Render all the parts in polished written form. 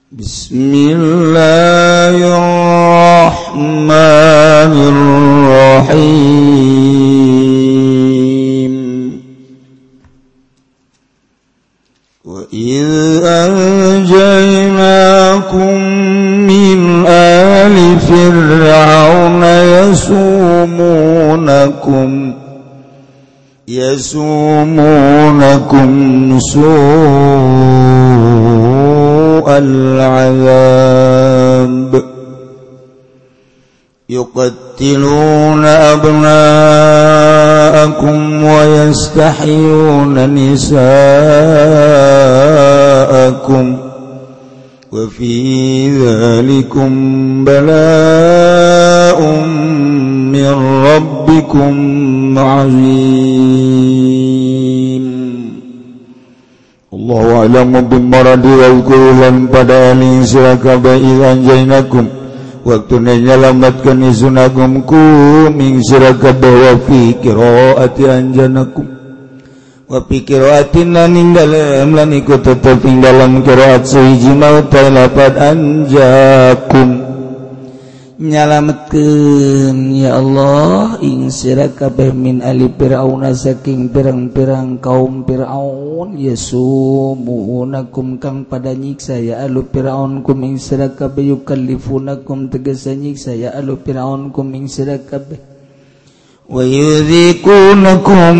Bismillahirrahmanirrahim. Wa idh anjaynakum min ali fir'auna yasumunakum su'al 'adzab yuqattiluna abna'akum wa yastahyuna nisa'akum wa fi dzalikum bala'un min rabbikum 'azim. Allahu a'lamu bimaradi wa kullan pada ali sirakabai anjainakum waktu nyelamatkan isunakum kuming sirakabai wa fi qiraati anjanakum wa fi qiraatin lan dalam ikut tetap dalam qiraat sahiji mautai lapat anjakum nyalametkeun ya Allah ing sira kabeh min ali fir'auna saking pirang-pirang kaum Firaun yasumunakum kang pada nyiksa ya alu Firaun kum ing sira kabeh yukallifunakum tegese nyiksa ya alu Firaun kum ing sira kabeh wa yudhikunakum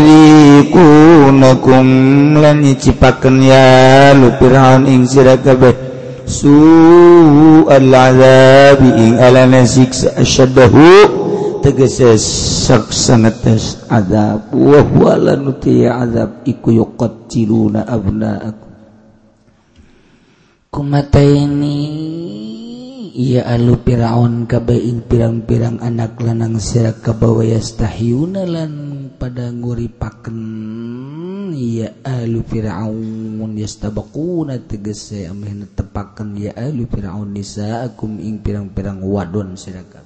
lan nyicipakeun ya alu Firaun ing sira kabeh su'al 'adzabi ing alana siksa asyaddahu tegese saksanetes azab wa huwa lanuti azab iku yuqattiluna abna'akum kumataini ya alu Firaun kabeh ing pirang-pirang anak lanang sira kabawa yastahyuna lan pada nguripaken ya alu Firaun yastabaquna tegese ameh netepaken ya alu Firaun nisaakum ing pirang-pirang wadon sira kabeh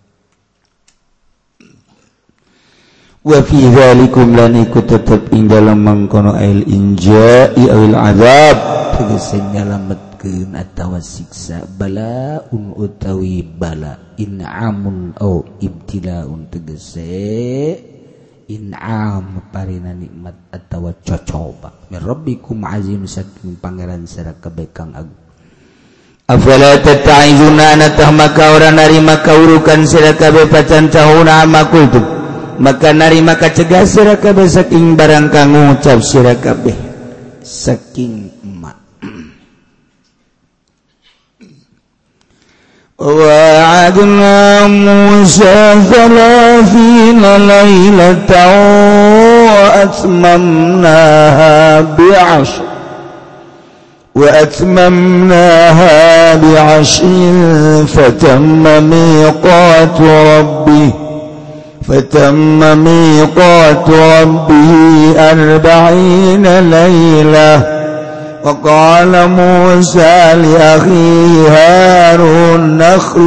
wa fi dzalikum lan iku tetep ing dalem mangkono ail inja'i awil azab tegese nyalametkeun atawa siksa balaun utawi bala in'amun au ibtilaun tegese in'am parina nikmat atawa cocoba min rabbikum azim saking pangeran sira kabeh kang agung afala tata'izuna anatah maka ora narima kaurukan sira kabeh pacan tahuna amakultum maka narima kacegah sira kabeh saking barang kang ngucap sira kabeh saking emak وَوَعَدْنَا مُوسَى 30 لَيْلَةً وَأَتْمَمْنَاهَا بِعَشْرٍ فَتَمَّ مِيقَاتُ رَبِّهِ 40 لَيْلَةً وقال موسى لأخيه هارون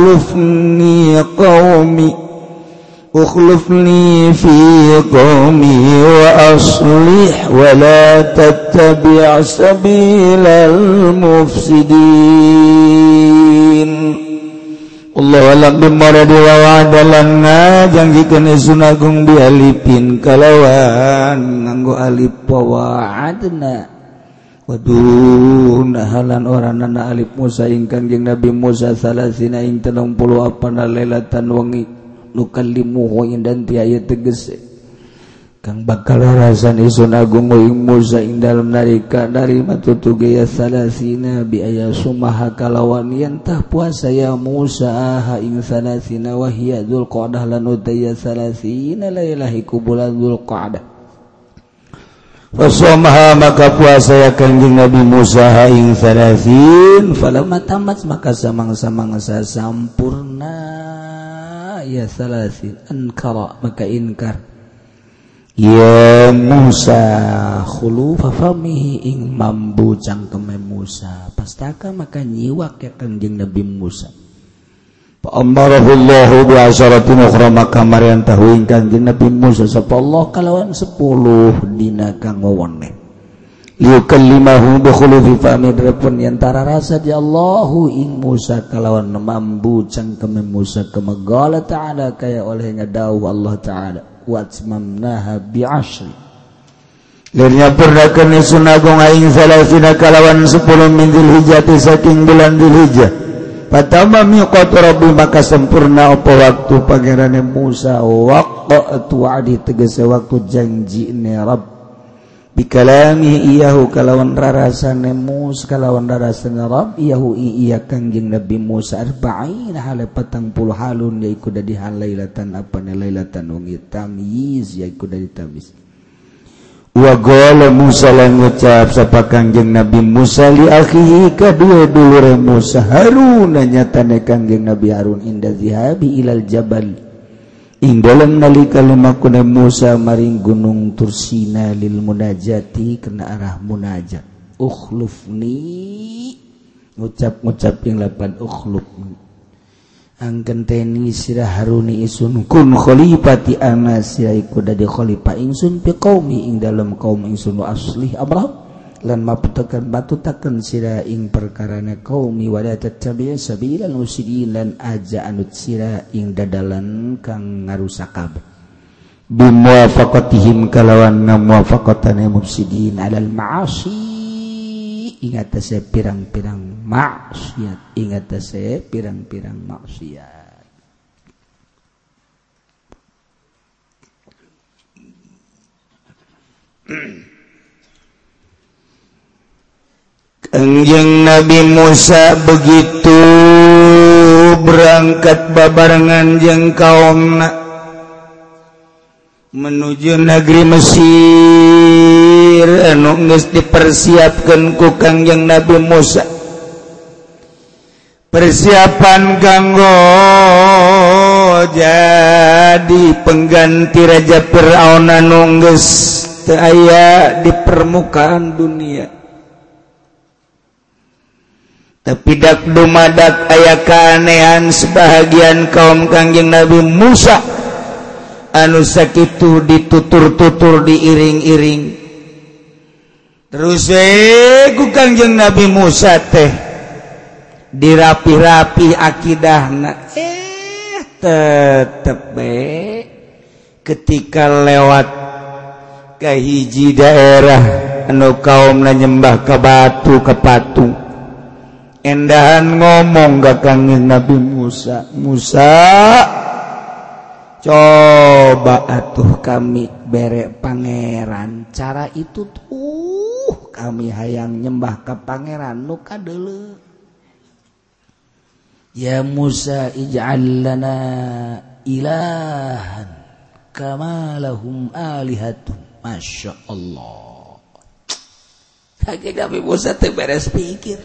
اخلفني في قومي وأصلح ولا تتبع سبيل المفسدين Allah alam bimaradi wa wa'adalan ngajangkeun isun agung bialipin kalawan nganggo alif wa'adna waduh nahalan oranana alif Musa ing Kangjeng Nabi Musa salasina ing 30 apana lailatan wengi nukallimu ing dan tiaya tegese kang bakal rasan isun agung ing Musa ing dalem narika dari matutuge ya salasina bi ayasumaha kalawan yen tah puasa ya Musa ha ing salasina wa hiya dzulqa'dah lan utaya salasina lailahiku bulan dzulqa'dah Fasomaha maka puasa ya Kanjeng Nabi Musa ing 30 falamma tamat maka samang-samangsa sampurna ya 30 ankara maka inkar ya Musa khulufa famihi ing mambu cangkeme Musa pastaka maka nyiwak ya Kanjeng Nabi Musa Fa'amarahullahu bi'asyaratin ukhra maka marian tahuing Kanjeng Nabi Musa sapa Allah kalawan 10 dina kang wewene liukallimahu bi khulufi fami drepun yantara rasa di Allahu ing Musa kalawan mambu cangkem Musa kama qala ta'ala kaya olehnya dawuh Allah ta'ala wa atmamnaha bi 'ashri lirnya purnakeun sunagong aing salasina kalawan 10 min Dzulhijjah saking bulan Dzulhijjah patama miqatu rabbi maka sempurna apa waktu pangerane Musa waqtu adi tegese waktu janjine Rabb bikalami iyahu kalawan rarasane Musa kalawan rarasane Rabb iyahu iya kangjeng Nabi Musa arba'in hale 40 halun yaiku dadi halailatan apane lailatan wengi tamyiz yaiku dadi tamyiz wa qala Musa lan ngucap sapa kangjeng Nabi Musa li akhihi kadua dulure Musa Harun nyatane kangjeng Nabi Harun inda zihabi ilal jabal ing dalem nalika lumakune Musa maring gunung Tursina lil munajati kena arah munajat ukhlufni ngucap yang lapan ukhlufni angkenteni sirah Haruni isun kun khalifati ana siraiku dadi khalifah ingsun pi qaumi ing dalem kaum ingsun asli Abraham lan maputaken batutaken sira ing perkarane qaumi wa tattabi' sabilal mufsidin lan aja anut sira ing dadalan kang ngarusak kabeh bimuwafaqatihim kalawan muwafaqatane mufsidin alal ma'asi ing atase pirang-pirang maksiat ing atase pirang-pirang maksiat Kangjeng Nabi Musa begitu berangkat babarengan jeung kaumna menuju negeri Mesir anu geus dipersiapkeun ku Kangjeng Nabi Musa persiapan kanggo jadi pengganti Raja Firaun anu geus teu aya di permukaan dunia tapi dak dumadak aya keanehan sebahagian kaum Kangjeng Nabi Musa anu sakitu ditutur-tutur diiring-iring terus ku Kangjeng Nabi Musa teh dirapi-rapi akidahna tetep ketika lewat ka hiji daerah anu kaumna nyembah ka batu ka patung endahan ngomong ka Kangjeng Nabi Musa coba atuh kami bere pangeran cara itu tuh kami hayang nyembah ka pangeran nu kadeuleu ya Musa ij'al lana ilahan kama lahum alihatun masyaallah Kangjeng Nabi Musa teh beres pikir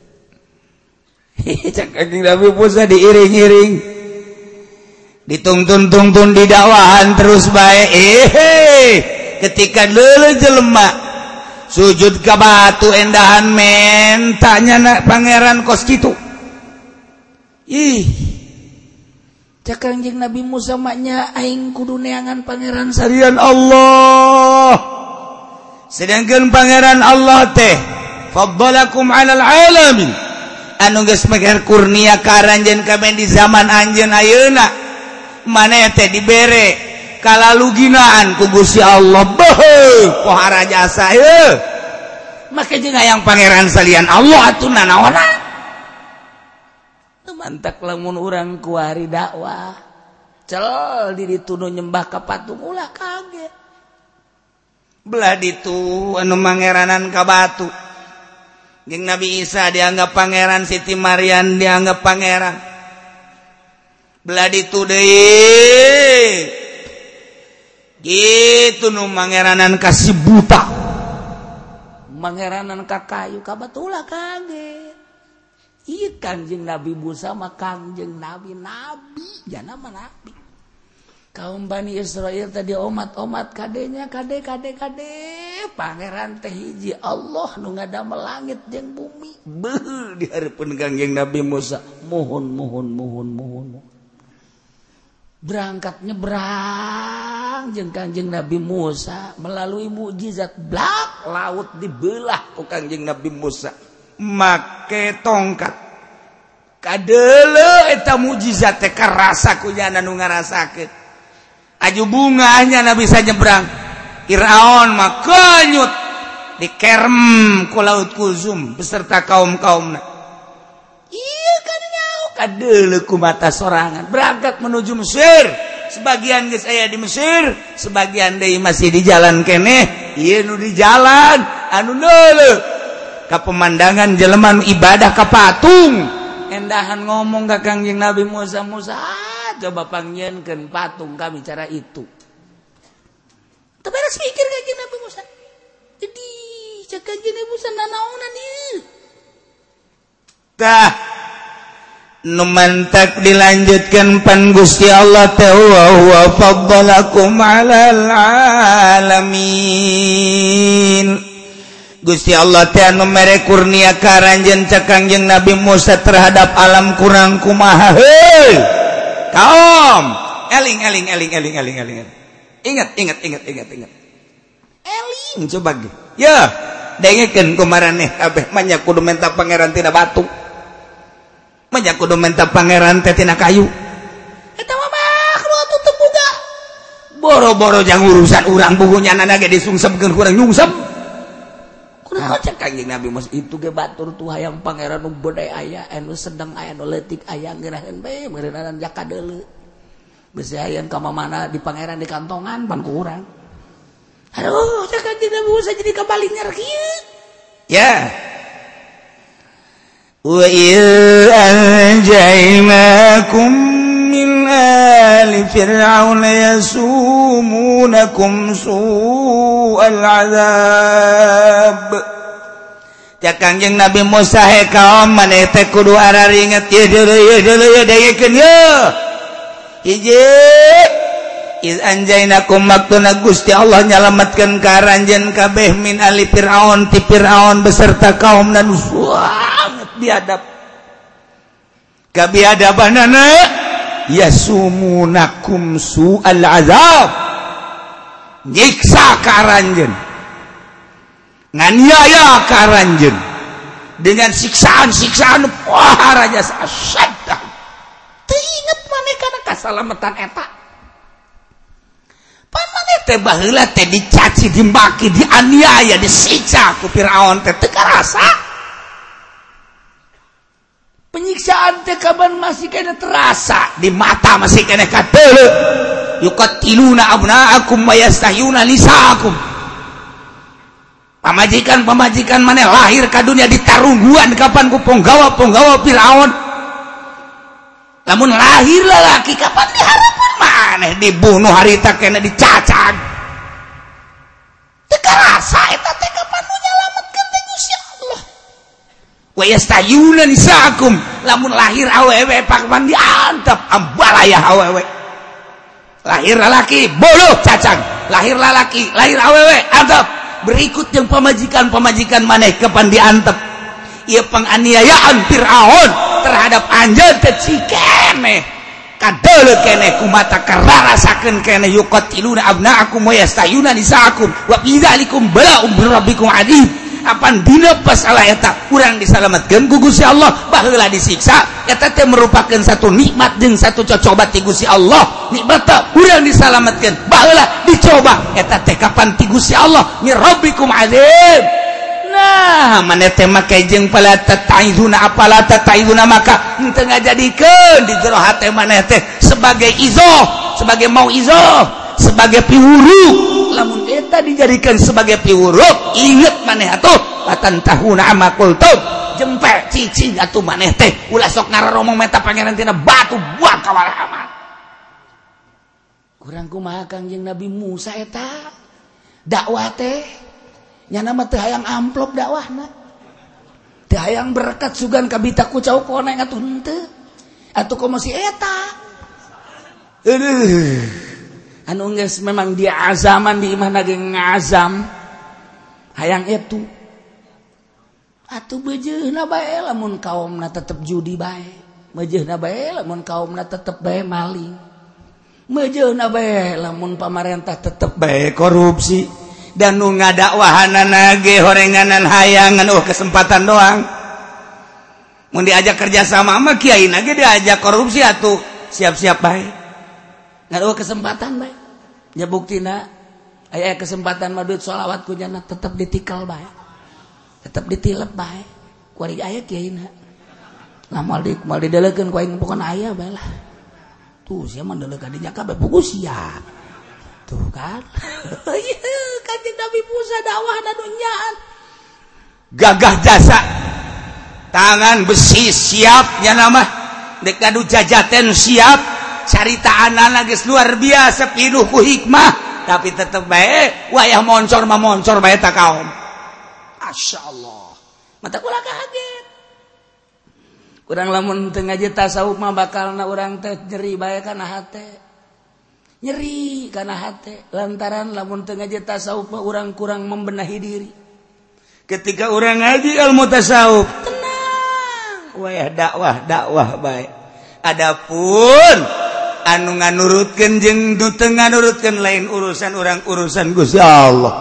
Kangjeng Nabi Musa diiring-iring dituntun-tuntun di dakwahan terus bae ketika leuleuh jelema sujud ka batu endahan men tanya pangeran kos kitu cak Kangjeng Nabi Musa maknya aing kudu neangan pangeran sarian Allah sedangkan pangeran Allah teh faddalakum 'alal 'alamin anu geus meger kurnia ka aranjeun kabeh di zaman anjeun ayeuna maneh teh dibere kalaluginaan ku Gusti Allah beuh pohara jasa heuh make jeung hayang pangeran salian Allah atuh nanaona teu mantak lamun urang kuari dakwah cel di ditu nyembah ka patung ulah kaget belah ditu anu mangeranan ka batu jeung Nabi Isa dianggap pangeran Siti Maryam dianggap pangeran belah ditu deui gitu nu mangeranan ka si buta mangeranan ka kayu ka batu ulah kaget ieu Kangjeng Nabi Musa mah Kangjeng Nabi jana mah nabi kaum Bani Israel tadi omat-omat kadenya kade pangeran teh hiji Allah nu ngadamel langit jeung bumi beuh di hareupeun Kangjeng Nabi Musa mohon berangkat nyebrang jeung Kangjeng Nabi Musa melalui mukjizat blak laut dibelah ku Kangjeng Nabi Musa make tongkat kadeule eta mujizat teh karasa ku nya nu ngarasakeun aju bunganya na bisa nyebrang Firaun mah kenyut dikerem ku laut Kulzum beserta kaum-kaumna ieu kan nyaho kadeule ku mata sorangan berangkat menuju Mesir. Sebagian geus aya di Mesir, sebagian deui masih di jalan keneh, ieu nu di jalan anu neuleuh ka pemandangan jelema nu ibadah ka patung. Endahan ngomong ka Kangjeng Nabi Musa, coba panggieunkeun patung kami cara itu. Teu beres mikir Kangjeng Nabi Musa. Jadi cak Kangjeng Nabi Musa nanaonan ieu. Tah numantak dilanjutkan pan Gusti Allah wa huwa faddalakum 'alal 'alamin. Gusti Allah teh anu mere kurnia karanjeun ka Kangjeng Nabi Musa terhadap alam kurang kumaha heuh. Kaum, eling. Ingat. Eling coba ge. Ya, dengekeun kumaraneh kabeh mah nya kudu menta pangeran tina batu. Manya kudu menta pangeran teh tina kayu. Eta mah makhluk tutup boga. Boro-boro jang urusan urang bukunya nana ge disungsepkeun kurang nyungsep. Kunaon cek Kangjeng Nabi Musa itu ge batur tuh hayang pangeran nu beude aya, anu sedeng aya, anu leutik aya geuraheun bae meureunana jakadeuleu. Geus hayang ka mana di pangeran di kantongan pan ku urang. Aduh, cek Kangjeng Nabi Musa jadi kabalik nger kieu. Ya. وَإِذْ أَنْجَيْنَاكُمْ مِنْ آلِ فِرْعَوْنَ يَسُومُونَكُمْ سُوءَ الْعَذَابِ. Cak Kangjeng Nabi Musa he kaum maneh teh kudu araringet ye deuleu dengekeun ye. Hiji iz anjainakum maktuna Gusti Allah nyalametkeun ka aranjeun kabeh min ali Firaun ti Firaun beserta kaumna nu biadab kabiadabanana yasumunakum su'al azab nyiksa ka aranjeun nganiaya ka aranjeun dengan siksaan-siksaan raja asyadda teu inget maneh kana kasalametan eta pan maneh teh baheula teh dicaci dimaki dianiaya disiksa ku Firaun teh teu karasa. Penyiksaan teh kaban masih kena terasa di mata masih kena kadeuleu yuqatiluna abnaakum wa yastahyuna nisaakum. Pamajikan maneh lahir ka dunia ditarungguan kapan ku ponggawa Firaun. Lamun lahir lalaki kapan diharapkeun maneh dibunuh harita kena dicacag. Teu karasa eta teh kapan nu nyalametkeun teh Gusti Allah. Wa yastayuna nisaakum lamun lahir awewe pakman diantep ambalaya awewe lahir lalaki boluh cacang lahir lalaki lahir awewe antep berikut yang pamajikan maneh kepan diantep ieu penganiayaan Firaun terhadap anjeun teh cikene kadeuleu keneh kumata kararasakeun keneh yuqatiluna abnaakum wa yastayuna nisaakum wa bidzalikum bala'um birabbikum adid. Apan dina pasalah eta urang disalametkeun ku Gusti Allah baheula disiksa eta teh merupakan satu nikmat jeung satu cocobat ti Gusti Allah nikmat urang disalametkeun baheula dicoba eta teh kapan ti Gusti Allah mi rabbikum azim. Nah maneh teh make jeung pala tataizuna apala tataizuna maka henteu ngajadikeun di jero hate maneh teh sebagai izoh sebagai mauizah sebagai piwuru. Lamun eta dijadikan sebagai piwurup inget maneh atuh patantahuna ama qultum jempe cicing atuh maneh teh ulah sok ngararomong meta pangeran tina batu buang ka walahaman. Kurang kumaha Kangjeng Nabi Musa eta dakwah teh nyana mah teu hayang amplop dakwahna teu hayang berkat sugan ka bita kucau koneng atuh henteu atuh komo si eta anu geus memang dia azaman di imah ge ngazam hayang itu atuh beujeuhna bae lamun kaumna tetep judi bae beujeuhna bae lamun kaumna tetep bae maling beujeuhna bae lamun pamarentah tetep bae korupsi dan nu ngadakwahanana ge horenganan hayangan kesempatan doang. Mun diajak kerja sama mah kiai na ge diajak korupsi atuh siap-siap bae. Ngaruh kesempatan bae. Nya buktina aya kesempatan mah duit sholawat ku jana tetep ditikal bae. Tetep ditilep bae. Ku ari aya kiai na. Lah moal didelekeun ku aing pokona aya bae lah. Tuh sia mah deleuk dinya kabeh pugu sia. Tuh kan. Kanjeng Nabi Musa dakwahna dunyaan. Gagah jasa. Tangan besi siap nya nama. Dek anu jajaten siap. Caritaanana geus luar biasa pinuh ku hikmah. Tapi tetep bae wayah moncor mah moncor bae ta kaom. Masyaallah. Mata kula kaget. Urang lamun teu ngaji tasawuf mah bakalna urang teh nyeri bae kana hate. Nyeri kana hate lantaran lamun teu ngaji tasawuf mah urang kurang membenahi diri. Ketika urang ngaji ilmu tasawuf tenang, wayah dakwah bae. Adapun anu nganurutkeun jeung nu teu nganurutkeun lain urusan urang urusan Gusti Allah.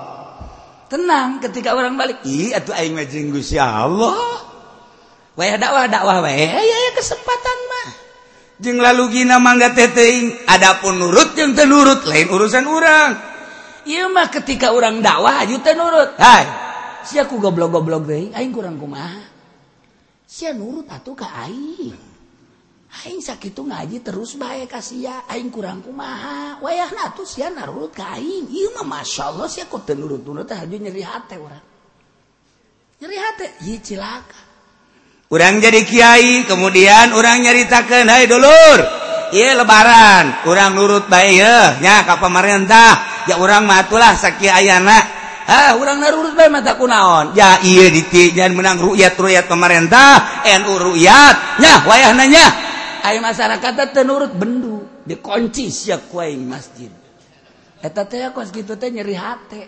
Tenang ketika orang balik, ih atuh aing mah jeung Gusti Allah. Wayah dakwah wae aya kesempatan mah. Jeung lalugina mangga teh teuing, adapun nurut jeung teu nurut lain urusan urang. Ieu mah ketika urang dakwah aju teu nurut. Hai, sia ku goblok-goblok deui, aing kurang kumaha. Sia nurut atuh ka aing. Aing sakitu ngaji terus bae ka sia, aing kurang kumaha. Wayahna atuh sia narurut ka aing. Ieu mah masyaallah sia ku teu nurut-nurut teh aju nyeri hate urang. Nyeri hate, ieu cilaka. Urang jadi kiai, kemudian urang nyaritakeun, "Hai dulur, ieu lebaran, urang nurut bae yeuh nya ka pamarentah. Ya urang mah atulah sakieu ayana." Urang narurut bae mah tak kunaon. Ya ieu jangan menang ru'yat pamarentah, NU ru'yat. Nya wayahna nya. Aya masyarakat teh nurut bendu, dikunci sia ku aing masjid. Eta teh kos kitu teh nyeri hate.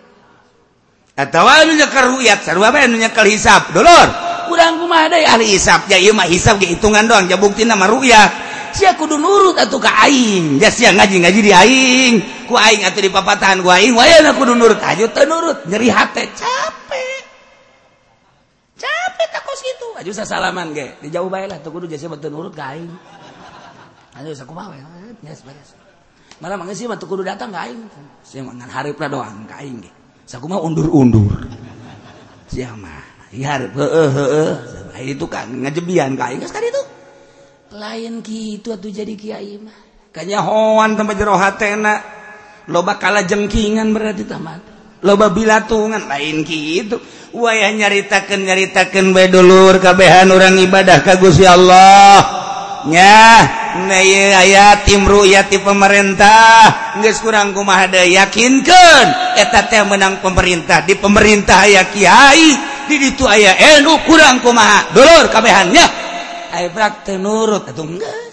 Atawa anu nyekel ru'yat, sarua bae anu nyekel hisab. Dulur, urang kumaha deui ahli hisab. Ya ieu mah hisab ge hitungan doang, ja buktina mah ru'yat. Sia kudu nurut atuh ka aing. Ya sia ngaji-ngaji di aing. Ku aing atuh di papatahan ku aing, wayahna kudu nurut. Aju teu nurut, nyeri hate, capek. Capek tak kos kitu. Aju sasalaman ge, dijauh bae lah teu kudu jasa teu nurut ka aing. Aju sakumaha we, beres. Malah mangga sih mah teu kudu datang ka aing. Sia mah ngan hareupna doang ka aing ge. Sakumaha undur-undur. Sia mah hareup heueuh. Itu kan ngajebian ka aing geus ka ditu. Lain kitu atuh jadi kiai mah. Kanyahoan tempat jero hatena. Loba kalajengkingan berarti tamat. Loba bilatungan lain kitu. Wayah nyaritakeun bae dulur kabehan urang ibadah ka Gusti Allah. Nya, ieu aya tim ru'yat ti pemerintah. Geus kurang kumaha deui yakinkeun eta teh menang pemerintah. Di pemerintah aya kiai, di ditu aya NU kurang kumaha. Dulur kabehan nya. Ai brak teu nurut atuh geus.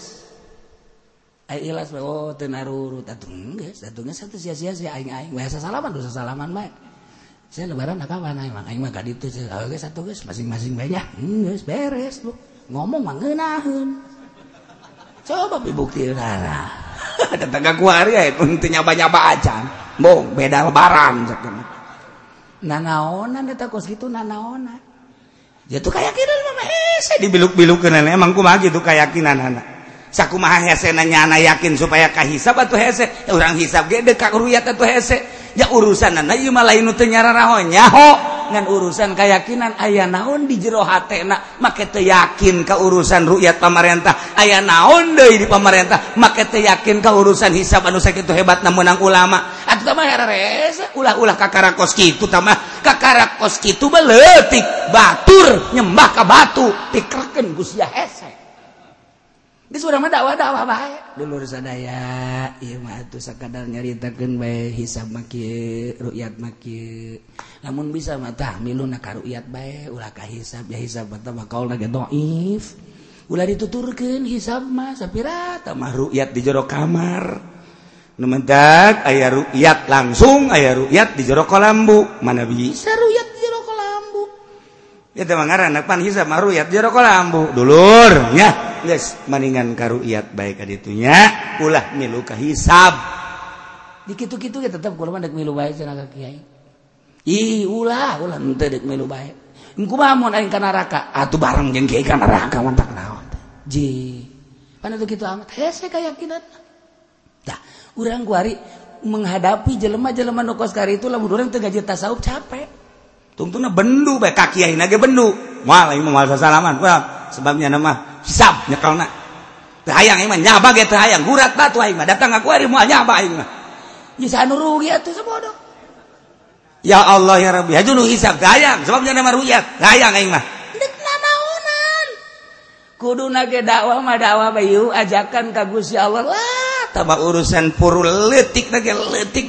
Ai ilas bae teu narurut atuh geus atuh sia-sia aing we sasalaman dosa salaman bae. Saya lebaran kapan aing mah ka ditu geus atuh geus masing-masing bae nya. Geus beres lu. Ngomong mah ngeunaheun. Coba bukti rara. Tetangga kuari aya teu nyaba-nyaba acan. Bong beda lebaran sakeuna. Nanaonan eta kos kitu nanaonan. Ya tuh keyakinan mah hese dibiluk-bilukkeun emang kumaha gitu keyakinanana. Sakumaha hesena nyana yakin supaya kahisab atuh hese. Urang hisab ge deuk ka ruyat atuh hese. Ya urusanana ieu mah lain nu teu nyararaho nyaho ngan urusan keyakinan aya naon di jero hatena make teu yakin ka urusan ruyat pamarentah. Aya naon deui di pamarentah make teu yakin ka urusan hisab anu sakitu hebatna meunang ulama. Atuh mah herese ulah-ulah kakarakos kitu tah mah kakarakos kitu mah leutik batur nyembah ka batu pikirkeun Gusti hese. Geus urang mah dakwah bae. Dulur sadaya, ieu mah atuh sakadar nyaritakeun bae hisab mah kieu, ru'yat mah kieu. Lamun bisa mah tah miluna ka ru'yat bae, ulah ka hisab, ya hisab mah kaulna ge dhaif. Ulah dituturkeun hisab mah sapira tah mah ru'yat di jero kamar. Nu mentak aya ru'yat langsung, aya ru'yat di jero kolambu. Mana bisa ru'yat di jero kolambu? Ya teh mah ngaranna pan hisab mah ru'yat di jero kolambu. Dulur nya. Geus maningan ka ru'yat bae ka ditu nya, ulah milu ka hisab. Di kitu-kitu ge tetep kudu mah dek milu bae cenah ka kiai. ulah teu deuk milu bae kumaha mun aing ka neraka atuh bareng jeung kiai ka neraka mantap naon ji pan atuh kitu amat hese keyakinan tah urang kuari menghadapi jelema-jelema nu kos kari itu lamun urang teu ngaji tasawuf capek tungtungna bendu bae ka kiai na ge bendu moal aing moal sasalaman sebabnya nama hisab nyekelna teu hayang aing mah nyaba ge teu hayang gurat batu aing mah datang ka kuari moal nyaba aing mah geus anu rugi atuh sabodoh ya Allah ya Rabbi haju nu hisab teu hayang sebabnya nama ruyat teu hayang aing mah deuk nanaonan kuduna ge dakwah mah dakwah bayu ajakan ka Gusti Allah lah tambah urusan puru leutik da ge leutik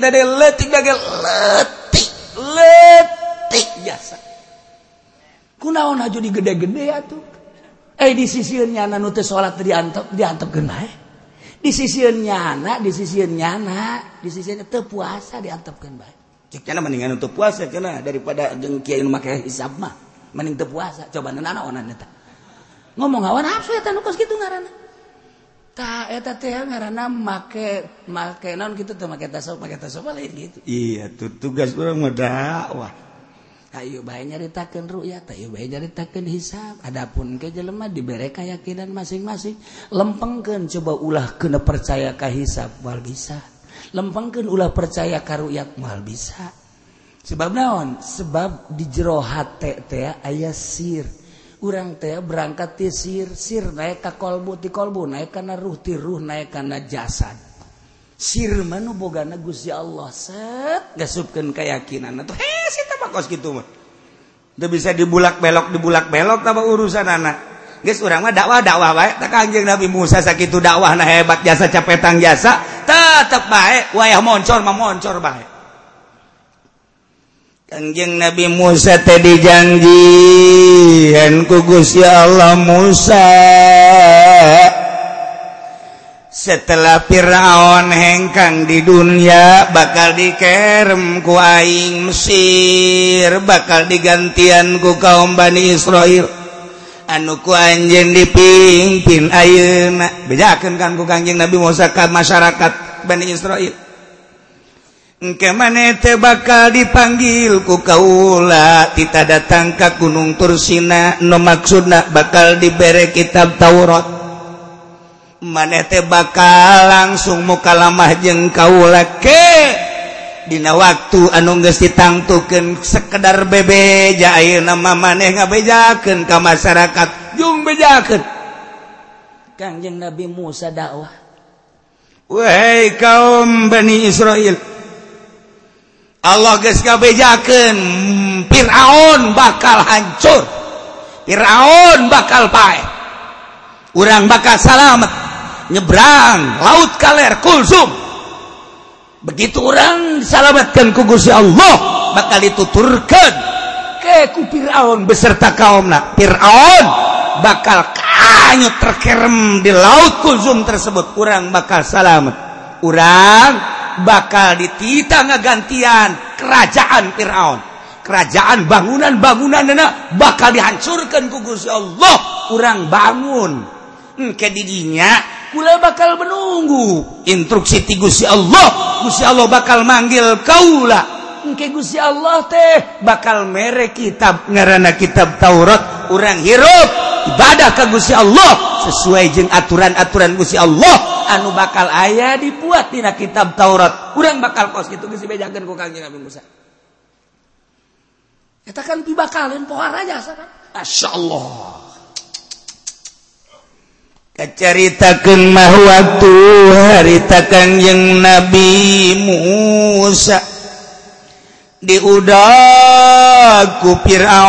biasa kunaon haju digede-gede atuh di sisieun nyana nu teu salat teu diantepkeun bae di sisieun nyana di sisieun teu puasa diantepkeun bae cek cenah mendingan teu puasa cenah daripada jeung kiai nu make hisab mah mending teu puasa coba nanaonan eta ngomong hawa nafsu eta nu kos kitu ngaranna tah eta teh ngaranna make naon kitu teh make tasawuf lain gitu iya tugas urang mah dakwah ayo bae nyaritakeun ru'yat ayo bae nyaritakeun hisab adapun ke jelema dibere keyakinan masing-masing lempengkeun coba ulah keuna percaya ka hisab moal bisa lempengkeun ulah percaya ka ru'yat moal bisa sebab naon sebab di jero hate teh aya sir urang teh berangkat ti sir naik ka kolbu ti kolbu naik kana ruh ti ruh naik kana jasad sir manu bogana Gusti Allah set gasupkeun keyakinan atuh hese teh mah kos kitu mah teu bisa dibulak-belok tambah urusan anak geus urang mah dakwah bae tah Kangjeng Nabi Musa sakitu dakwahna hebat jasa capetang jasa tetep bae wayah moncor mah moncor bae Kangjeng Nabi Musa teh dijanjieun ku Gusti Allah Musa setelah Firaun hengkang di dunia bakal dikerem ku aing Mesir bakal digantian ku kaum Bani Israil anu ku anjeun dipimpin ayeuna bejakeun kan ku Kangjeng Nabi Musa ka masyarakat Bani Israil engke maneh teh bakal dipanggil ku kaula tita datang ka Gunung Tursina nu maksudna bakal dibere kitab Taurat maneh teh bakal langsung mukalamah jeung kaula ke dina waktu anu geus ditangtukeun sekedar bebeja ayeuna mah maneh ngabejakeun ka masyarakat jung bejakeun Kangjeng Nabi Musa dakwah wahai kaum Bani Israil Allah geus ngabejakeun Firaun bakal hancur Firaun bakal pae urang bakal salamet nyebrang laut kaler kulsum begitu orang disalamatkan ku Gusti Allah bakal dituturkeun ke ku Firaun beserta kaumna Firaun bakal kanyut terkerem di laut kulsum tersebut urang bakal salamet urang bakal ditita ngagantian kerajaan Firaun kerajaan bangunan-bangunanna bakal dihancurkan ku Gusti Allah urang bangun ke didinya kula bakal menunggu instruksi ti Gusti Allah bakal manggil kaula engke Gusti Allah teh bakal mere kitab ngaranna kitab Taurat urang hirup ibadah ka Gusti Allah sesuai jeung aturan-aturan Gusti Allah anu bakal aya dibuat dina kitab Taurat urang bakal kos kitu geus dibejakeun ku Kangjeng Nabi Musa eta kan pibakalin pohar aja kan masyaallah kacaritakeun mah waktu harita Kangjeng Nabi Musa diudag ku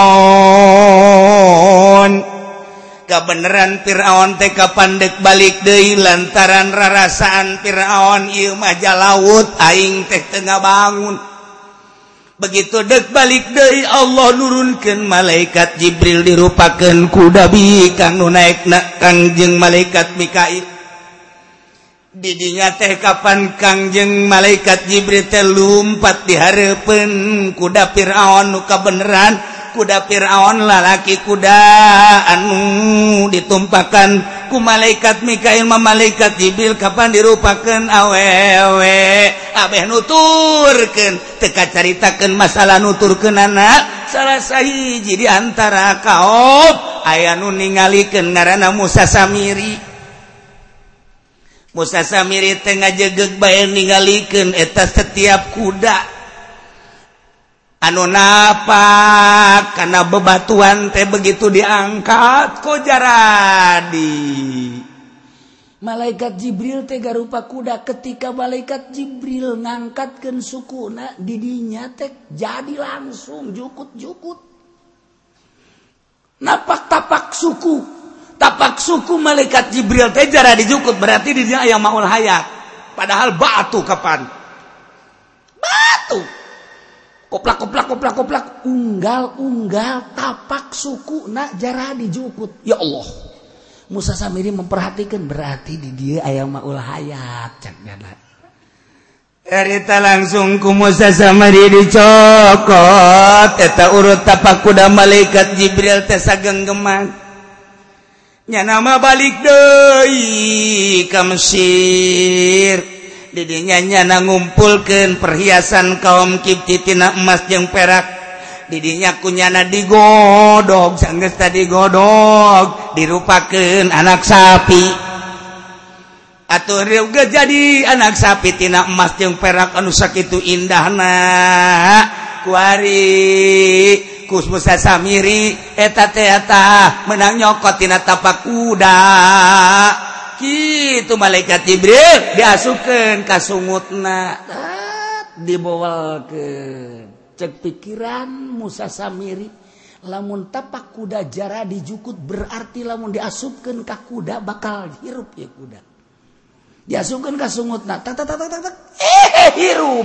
Firaun kabeneran Firaun teh kapandek balik deui lantaran rarasaan Firaun ieu mah jalaut aing teh teu ngabangun begitu dek balik deui Allah nurunkeun malaikat Jibril dirupakeun ku Nabi kang nu naekna Kangjeng malaikat Mikail didinya teh kapan Kangjeng malaikat Jibril teh lumpat dihareupeun kuda Firaun nu kabeneran kuda Firaun lalaki kuda anu ditumpakan ku malaikat Mikail ma malaikat Jibril kapan dirupakeun awewe abeh nuturkeun teka caritakeun masalah nuturkeunana salah sahiji di antara kaum aya nu ningalikeun ngaranna Musa Samiri. Musa Samiri teh ngajegeg bae ningalikeun eta setiap kuda anu napak karena bebatuan teh begitu diangkat ko jaradi. Malaikat Jibril teh garupa kuda ketika malaikat Jibril ngangkatkeun sukuna didinya teh jadi langsung jukut-jukut. Napak tapak suku malaikat Jibril teh jaradi jukut berarti didinya aya maul hayat. Padahal batu kapan? Batu. Koplak unggal tapak suku nak jarah dijukut. Ya Allah, Musa Samiri memperhatikan berarti di dia ayam maul hayat cak gana. Erita langsung ku Musa Samiri dicokot eta urut tapak kuda malaikat Jibril teh sagenggeman. Nya nama balik deui ka Mesir. Didinya nyana ngumpulkeun perhiasan kaum Kipti tina emas jeung perak. Didinya kunyana digodog sanggeus tadi godog dirupakeun anak sapi. Atuh reuga jadi anak sapi tina emas jeung perak anu sakitu indahna. Kuari kus Musa Samiri eta teh menang nyokot tina tapak kuda. Kitu malaikat Jibril diasupkeun ka sungutna dibawakeun cek pikiran Musa Samiri lamun tapak kuda jara dijukut berarti lamun diasupkeun ka kuda bakal hirup ya kuda diasupkeun ka sungutna tak hirup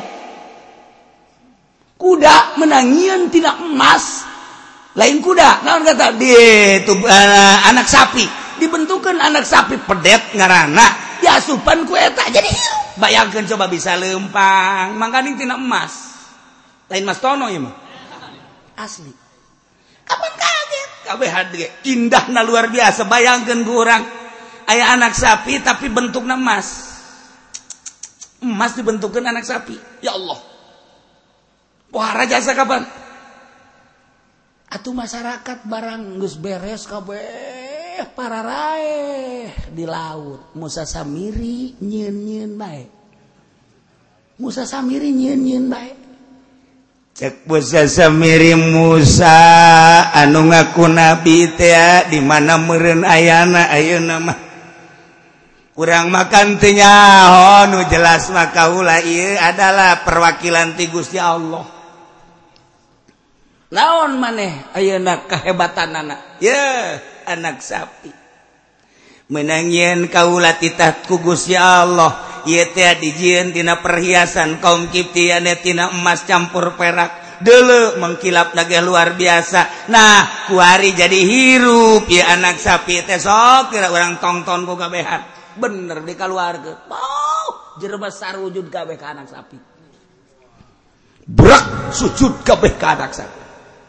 kuda menangieun tina emas lain kuda naon kata ditu anak sapi dibentukan anak sapi pedet ngaranna diasupan ku eta jadi hirup. Bayangkeun coba bisa lempang mangkaning tina emas lain mas tono ieu mah asli kapan kaget kabeh hade indahna luar biasa. Bayangkeun ku urang aya anak sapi tapi bentukna emas dibentukeun anak sapi ya Allah pohara jasa kapan atuh masyarakat barang geus beres kabeh para raeh di laut. Musa Samiri nyieun-nyieun bae. Musa Samiri nyieun-nyieun bae. Cek Musa Samiri Musa anu ngaku nabi teh di mana meureun ayana ayeuna mah. Urang makan teu nyaho nu jelas mah kaula ieu adalah perwakilan ti Gusti Allah. Naon maneh ayeuna kahebatanana? Ye anak sapi menangieun kaula titah ku Gusti Allah ieu teh dijieun tina perhiasan kaum Kipti ane tina emas campur perak deuleu mengkilapna ge luar biasa. Nah kuari jadi hirup ieu anak sapi teh sok kira urang tongton ku kabehan bener dikaluarkeun jerebas sarujud kabeh ka anak sapi brak sujud kabeh ka anak sapi.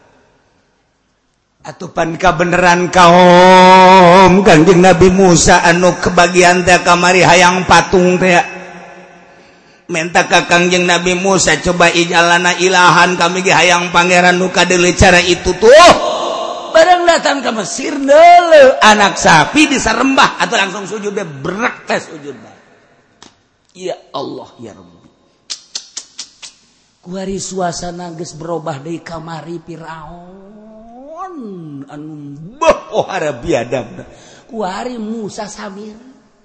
Atupan kabeneran kaum Kangjeng Nabi Musa anu kebagian teh kamari hayang patung teh menta ka Kangjeng Nabi Musa coba ijalana ilahan kami ge hayang pangeran nu kadeuleu cara itu tuh bareng datang ke Mesir deuleu anak sapi disarembah atau langsung sujud deh berak teh sujud bae. Ya Allah ya Rabbi kuari suasana geus berubah deui kamari Firaun anu pohara biadab kuari Musa Samiri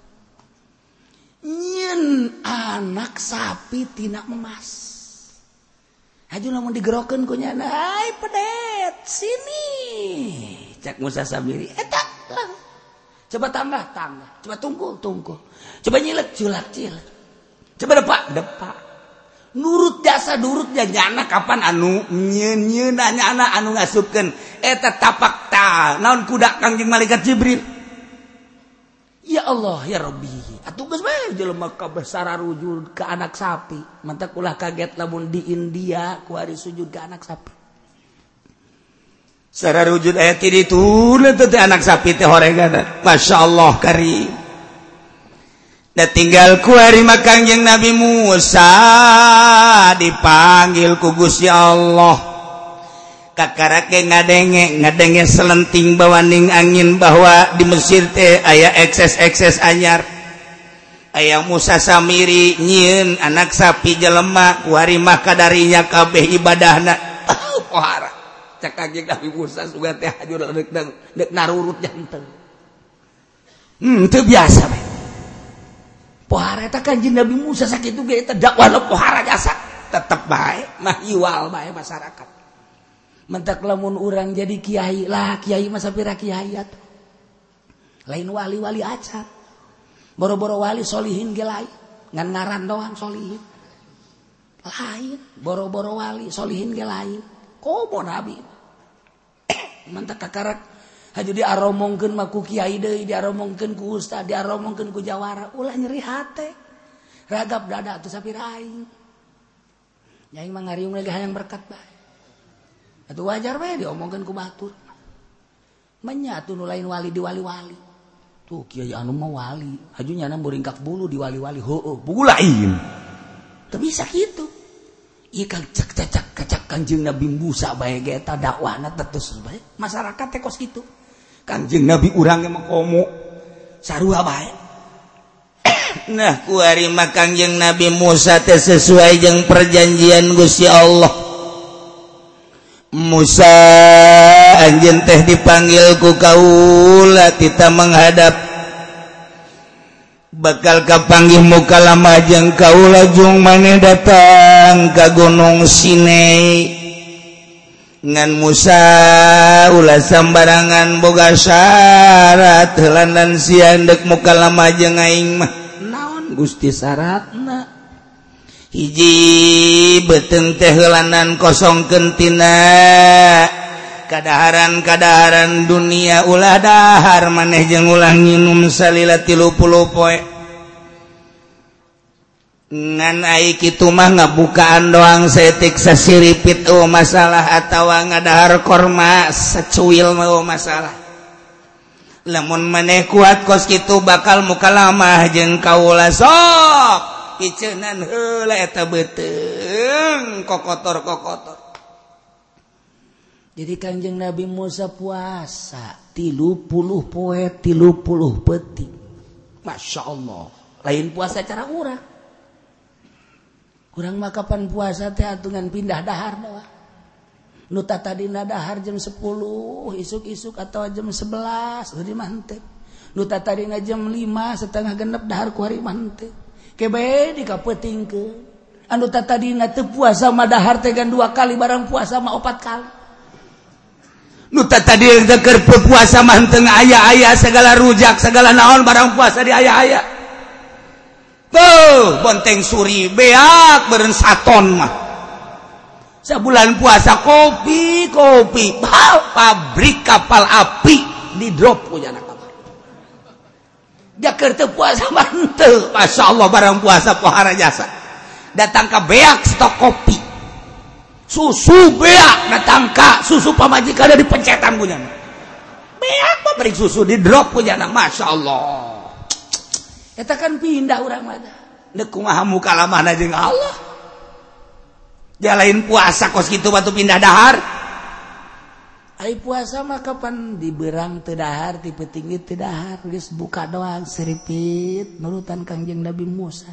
nyieun anak sapi tina emas aju lamun digerokeun ku nyana ai pedet sini cak Musa Samiri eta coba tambah coba tunggu coba nyilek culak coba depak nurut jasa durut jana kapan anu nyieun anak anu ngasupkeun eta tapak ta naon kuda Kangjeng malaikat Jibril. Ya Allah ya Rabbi atuh geus bae jelema kabeh sararujud ka anak sapi mantak ulah kaget lamun di India ku ari sujud ka anak sapi secara wujud ayat ini turun teh anak sapi teh horegan. Masyaallah karim. Da tinggal ku hari Kangjeng Nabi Musa dipanggil ku Gusti Allah. Kakarake ngadenge selenting bawaning angin bahwa di Mesir teh aya ekses anyar. Aya Musa Samiri nyieun anak sapi jelema ku hari kadarinya kabeh ibadahna. Pohara. Cak Kangjeng Nabi Musa sugan teh hajur deuk narurut janten. Teu biasa we. Pohara eta Kangjeng Nabi Musa sakitu ge eta dakwah pohara jasa tetep bae mah iwal bae masyarakat. Mentak lamun urang jadi kiai lah kiai mah sapira kiai atuh. Lain wali-wali acar. Boro-boro wali solihin ge lain ngan ngaran doang solihin. Lain boro-boro wali solihin ge lain. Komo nabi. Mentak kakarak haju diaromongkeun mah ku kiai deui, diaromongkeun ku ustad, diaromongkeun ku jawara, ulah nyeri hate. Ragap dada atuh sapira aing. Nyai mah ngariung lagi hayang berkat bae. Atuh wajar bae diomongkeun ku batur. Manya atuh nu lain wali di wali-wali. Tuh kiai anu mah wali, haju nyana muringkak bulu di wali-wali heueuh, buku lain. Teu bisa kitu. Ieu kacak Kangjeng Nabi Musa bae ge eta dakwahna tetus bae. Masyarakat teh kos kitu. Kangjeng Nabi urang mah komo sarua bae. Nah ku ari mah Kangjeng Nabi Musa teh sesuai jeung perjanjian Gusti Allah. Musa anjeun teh dipanggil ku kaula kita menghadap bakal kapanggih mukalamah jeung kaula jeung maneh datang ka Gunung Sinai. Ngan Musa ulah sambarangan boga syarat heulan sian deuk mukalamah jeung aing mah. Naon Gusti syaratna? Hiji beuteung teh heulanan kosongkeun tina kadaharan dunia ulah dahar maneh jeung ulah nginum salila 30 poe. Ngan ai kitu mah ngabukaan doang setik sasiripit masalah atawa ngadahar korma sacuil mah masalah. Lamun maneh kuat kos kitu bakal mukalamah jeung kaula sok kiceunan heula eta beuteung kokotor. Jadi Kangjeng Nabi Musa puasa 30 poe 30 peti. Masya Allah. Lain puasa cara urang. Urang mah kapan puasa teh atungan pindah dahar doang. Nu tadina dahar jam 10 isuk-isuk atau jam 11 di mantep. Nu tadina jam 5 setengah genep dahar ku hari mantep. Kebe dikapetingkeun. Anu tadina teu puasa mah dahar teh gan 2 kali barang puasa mah 4 kali. Nu tadi keur puasa mah teu aya segala rujak segala naon barang puasa di aya. Tuh bonteng suri beak beureun saton mah. Sabulan puasa kopi pabrik kapal api di drop punya anak kapal. Dia keur teu puasa mah teu. Masyaallah barang puasa pohara jasa. Datang ka beak stok kopi. Susu beak datang ka susu pamajikan ada dipencetan punya. Beak pabrik susu di drop punya anak. Masyaallah. Eta kan pindah urang mah. Deuk kumaha mukalamahna jeung Allah. Dia lain puasa kos kitu batu pindah dahar. Ai puasa mah kapan diberang teu dahar, di petinggi teu dahar, geus buka doang seripit nurutan Kangjeng Nabi Musa.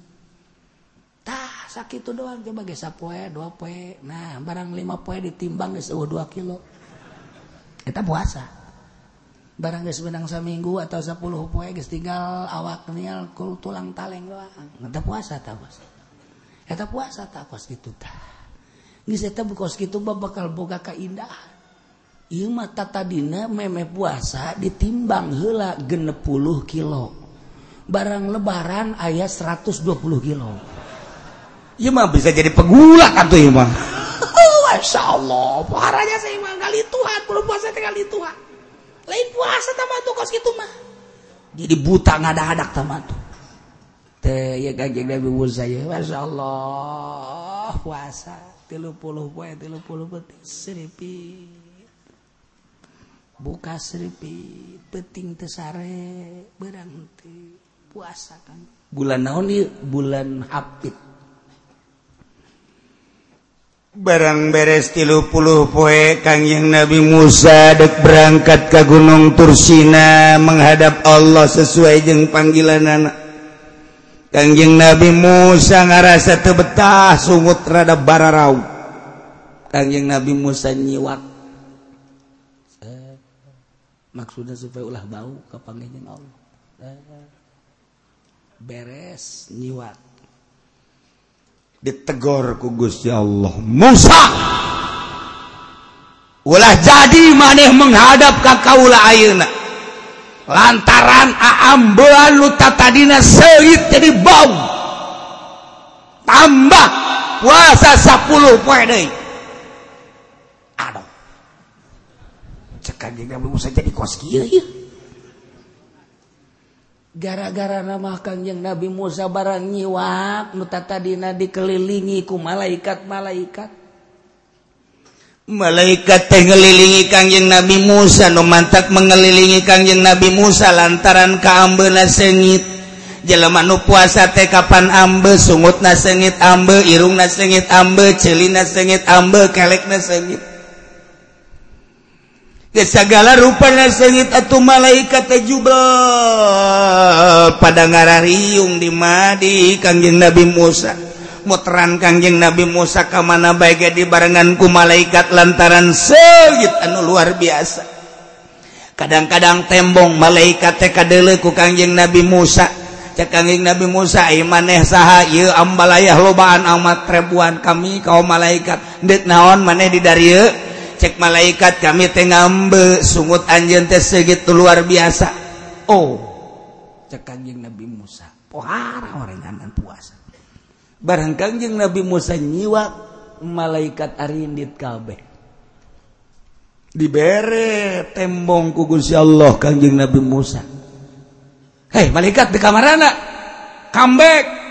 Tah sakitu doang coba geus sapoe 2 poe. Nah, barang 5 poe ditimbang geus 2 kilo. Eta puasa. Barang geus menang saminggu atau 10 poe geus tinggal awak nial kul tulang taleng doang. Eta puasa tah bos. Eta puasa tah kos kitu tah. Geus eta kos kitu bakal boga kaindahan. Ieu mah tadina meme puasa ditimbang heula 60 kilo. Barang lebaran aya 120 kilo. Ieu mah bisa jadi pegulat atuh ieu mah. Masyaallah, paharanya saya mah kali Tuhan, belum puasa teh kali Tuhan. Lain puasa tama tuh kos kitu mah. Jadi buta ngadadak tama tuh. Teh ya Kangjeng Nabi Musa ya, masyaallah puasa 30 poe 30 peti seripit. buka seripi peting teu sare beurang teu puasa kan bulan naon ieu bulan Hapit barang beres 30 poe Kangjeng Nabi Musa dek berangkat ke Gunung Tursina menghadap Allah sesuai jeung panggilanana Kangjeng Nabi Musa ngarasa teu betah sungut rada bararau Kangjeng Nabi Musa nyiwak maksudnya supaya ulah bau ka panggihna Allah beres nyiwat ditegor ku Gusti Allah Musa ulah jadi maneh menghadap ka kaula ayeuna lantaran aambean lu tatadina seuit jadi bau tambah puasa 10 poe deui aduh cek Kangjeng Nabi Musa jadi kos kieu ieu gara-gara nama Kangjeng Nabi Musa barang nyiwak nu tadina dikelilingi ku malaikat teh ngelilingi Kangjeng Nabi Musa nu mantak mengelilingi Kangjeng Nabi Musa lantaran kaambeuna seungit jelema nu puasa teh kapan ambe sungutna seungit ambe irungna seungit ambe ceulina seungit ambe kelekna seungit segala rupanya seungit atuh malaikat teh jubel pada ngarariung di madi Kangjeng Nabi Musa muteran Kangjeng Nabi Musa ka mana bae ge dibarengan ku malaikat lantaran seungit anu luar biasa kadang-kadang tembong malaikat teh kadeuleu ku Kangjeng Nabi Musa cek Kangjeng Nabi Musa ieu maneh saha ieu ambalayah lobaan amat ribuan kami kaum malaikat deuk naon maneh di darieu cek malaikat kami teh ngambe sungut anjeun teh segitu luar biasa oh cek Kangjeng Nabi Musa pohara orenganan puasa barang Kangjeng Nabi Musa nyiwak malaikat arindit kabeh dibere tembong ku Gusti Allah Kangjeng Nabi Musa hei malaikat di kamarana comeback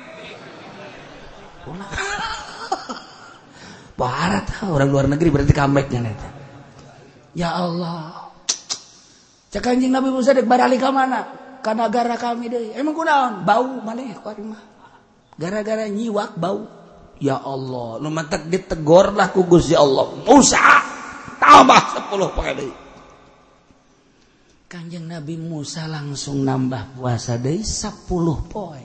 barat orang luar negeri berarti comebacknya neta ya Allah cek Kangjeng Nabi Musa dek barali ka mana ka nagara kami deui emang kunaon bau maneh kuari mah gara-gara nyiwak bau ya Allah nu mantak ditegor lah ku Gusti Allah Musa tambah 10 poe deui Kangjeng Nabi Musa langsung nambah puasa deui 10 poe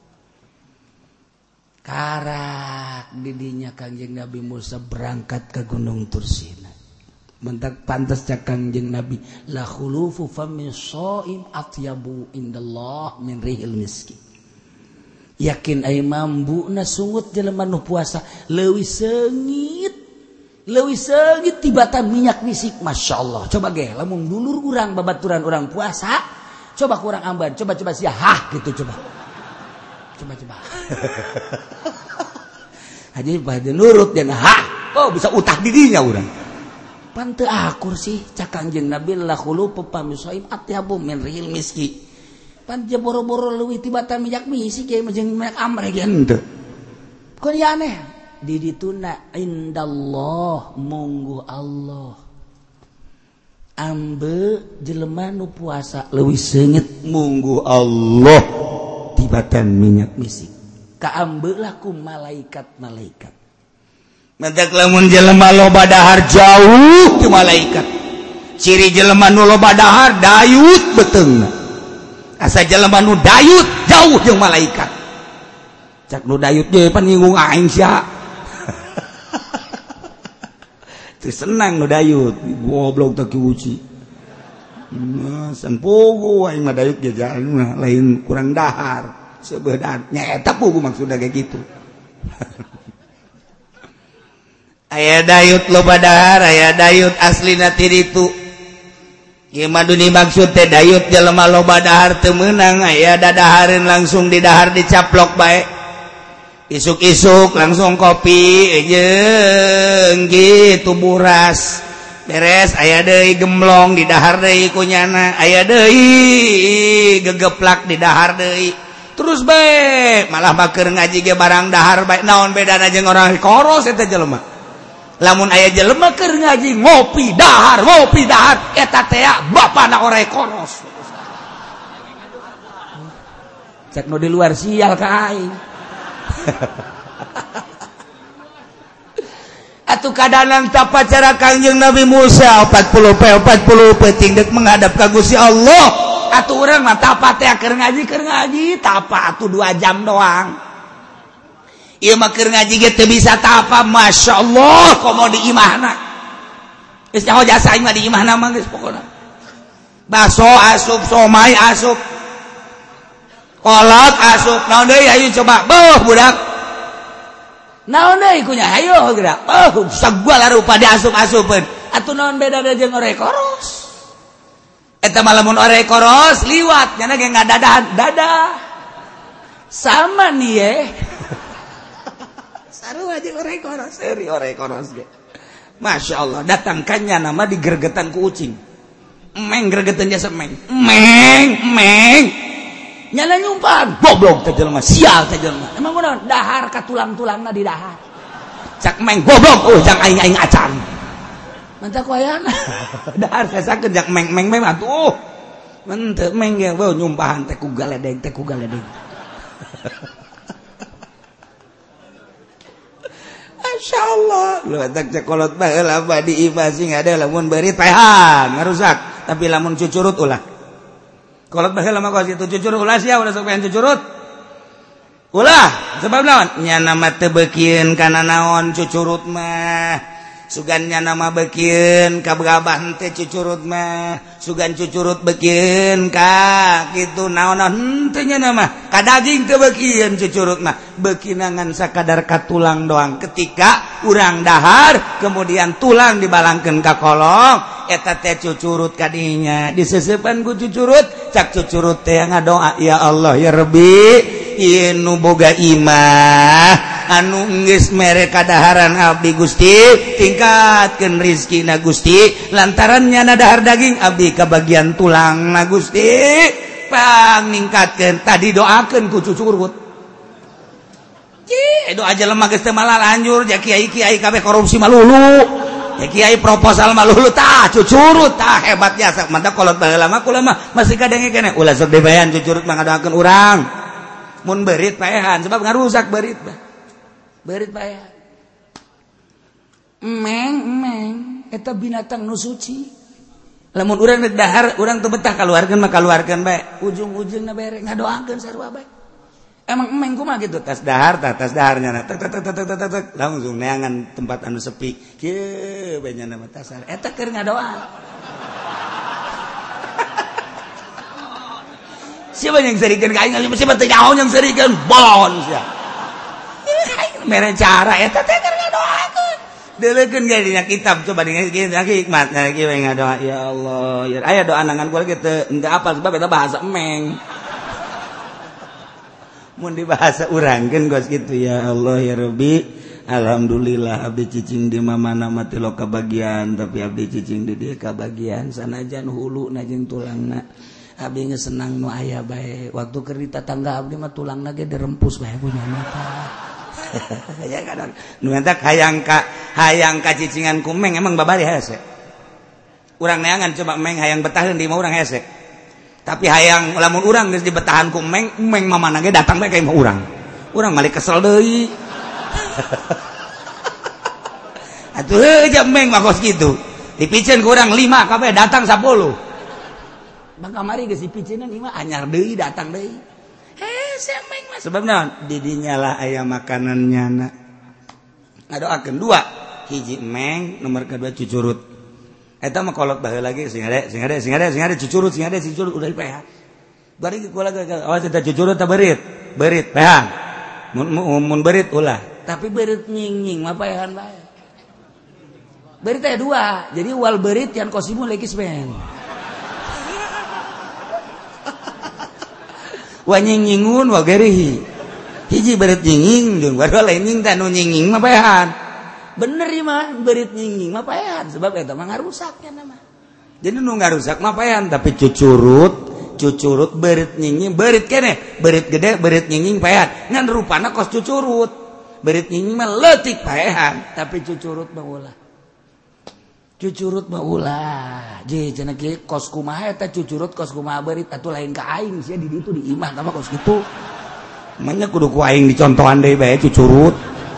karak didinya Kangjeng Nabi Musa berangkat ke Gunung Tursina mentak pantas cak Kangjeng Nabi la khulufu famin shaim atyabu indallah min rihil miski yakin ai mambuna sungut jelema nu puasa leuwih seungit tibatan minyak misik masyaallah coba ge lamun dulur urang babaturan urang puasa coba kurang amban coba sia hah gitu coba Haji pada nurut dan oh bisa utah didinya urang pan teu akur sih cak Kangjeng Nabi la khulu pamisoim atyabu min rihil miski pan je boro-boro leuwih tibatan minyak misik ge jeung minyak amre ge henteu kok ya aneh di dituna indallah munggu Allah ambe jelema nu puasa leuwih seungit munggu Allah tibatan minyak misik kaambelah ku malaikat-malaikat mentak lamun jelema loba dahar jauh ti malaikat ciri jelema nu loba dahar dayut beteungna asa jelema nu dayut jauh jeung malaikat cak nu dayut ge pan nyinggung aing sia teu senang nu dayut goblok teh ki uci san pogo aing mah dayut ge lain kurang dahar sebenarnya eta pugu maksudnya kayak gitu aya dayut loba dahar aya dayut aslina ti ditu ieu mah duni maksud teh dayut jelema loba dahar teu meunang aya dadahareun langsung di dahar dicaplok bae isuk-isuk langsung kopi jeung gitu buras beres aya deui gemblong di dahar deui kunyana aya deui gegeplak di dahar deui terus baik malah maker ngaji ge barang dahar baik naon bedana jeung orang koros eta jelema lamun aya jelema keur ngaji ngopi dahar eta teh bapana ore koros cek nu di luar sial ka aing atuh kadanan tapacara Kangjeng Nabi Musa 40 peting dek menghadap ka Gusti Allah atuh urang mah tapat teh keur ngaji tapat atuh 2 jam doang. Ieu mah keur ngaji ge teu bisa tapa masyaallah komo di imahna. Geus nyaho jasa aing mah di imahna mah geus pokona. Baso asup, somai asup. Kolot asup. Naon deui ayo coba. Beuh budak. Naon deui kunya hayo geura. Sagala rupa diasup-asupkeun. Atuh naon bedana jeung ore koros? Eta mah lamun ore koros liwat nya ge ngadadahan dadah. Sama nih ye. Sarua jeung ore koros, eri ore koros ge. Masya Allah, datangkannya nama digergetan ku ucing. Emeng gergetan jasa emeng. Emeng. Nyana nyumpaan, goblok teh jelema, sial teh jelema. Emang kunaon? Dahar ka tulang-tulangna di dahar. Cak emeng goblok, jang aing acan. Mantap koyana. Dahar sasakeun jak emeng atuh. Menteu emeng ge nyumpahan teh ku galedeng. Masya Allah lu tak cekolot baheula badi imah sing ada lamun beurit pehan ngarusak tapi lamun cucurut ulah kolot baheula mah kos kitu cucurut ulah sia ulah sok pengen cucurut ulah sebab naon nya nama teu beukieun kana naon cucurut mah sugan nya nama beukieun ka bagabah teh cucurut mah sugan cucurut beukieun ka kitu naon henteu nya nama ka daging teu beukieun cucurut mah beukina ngan sakadar ka tulang doang ketika urang dahar kemudian tulang dibalangkeun ka kolong eta teh cucurut ka dinya diseseupan ku cucurut cak cucurut teh ngadoa ya Allah ya Rabbi ieu nu boga imah anu geus mere kadaharan abdi Gusti tingkatkeun rezekina Gusti lantaran nyana dahar daging abdi ka bagian tulangna Gusti paningkatkeun tadi doakeun ku cucurut doa aja lemah geus teu malah lanjur ja kiai kabeh korupsi malulu ya kiai proposal malulu tah cucurut tah hebat jasa mantap kolot baheula mah kula mah masih kadenge keneh ulah sok dibayan cucurut mah ngadoakeun urang mun beurit paehan sebab ngarusak beurit paehan emeng eta binatang nu suci lamun urang rek dahar urang teu betah kaluarkeun mah kaluarkeun bae ujung-ujungna bere ngadoakeun sarua bae emang emeng kumaha gitu tas daharnya tek langsung neangan tempat anu sepi kieu bae nya nama tasar eta keur ngadoa siapa yang serikeun ka aing siapa teh nyaho yang serikeun bolon sia mere cara eta teh keur ngadoakeun deuleukeun ge dina kitab coba dina hikmat kieu we ngadoa ya Allah ya aya doa nangan kula ge teu henteu apal sebab eta bahasa emeng mun dibahasa urangkeun gos kitu ya Allah ya Rabbi alhamdulillah abdi cicing di mana mati lo kabagian tapi abdi cicing di dieu kabagian sanajan huluna jeung tulangna abdi geus senang nu aya bae waktu keur di tetangga abdi mah tulangna ge dirempus bae punya mata ya kadang nu eta hayang ka cicingan ku meng emang babari hese urang neangan coba meng hayang betaheun di mah urang hese tapi hayang lamun urang geus dibetahan ku meng mamana ge datang bae ka imah urang malik kesel deui atuh heuh meng mah kos kitu dipicen ku urang 5 kabeh datang 10 bang kamari geus dipiceunan imah anyar deui datang deui hese meng mah sebab naon di dinya lah aya makanannya na ngadoakeun 2 hiji meng nomor kedua cucurut eta mah kolot baheula lagi sing ade cucurut udah dipehan bari kula awas eta cucurut teh beurit pehan mun beurit ulah tapi beurit nying mah pehan bae beurit teh 2 jadi wal beurit yan kosimu lekis men wa nyingingun wa gerihi hiji beurit nyinging jeung baru lain nying teh nu nyinging mah pehan bener ya mah beurit nyinging mah paehan sebab eta mah ngarusaknya nama jadi nu ngarusak mah paehan tapi cucurut beurit nyinging beurit keneh beurit gede beurit nyinging paehan ngan rupana kos cucurut berit nying mah leutik paehan tapi cucurut mah ulah. Cucurut mah ulah. Je cenah kieu kos kumaha eta cucurut kos kumaha berit atuh lain ka aing sia di ditu di imah mah kos kitu. Manya kudu ku aing dicontohan deui bae cucurut.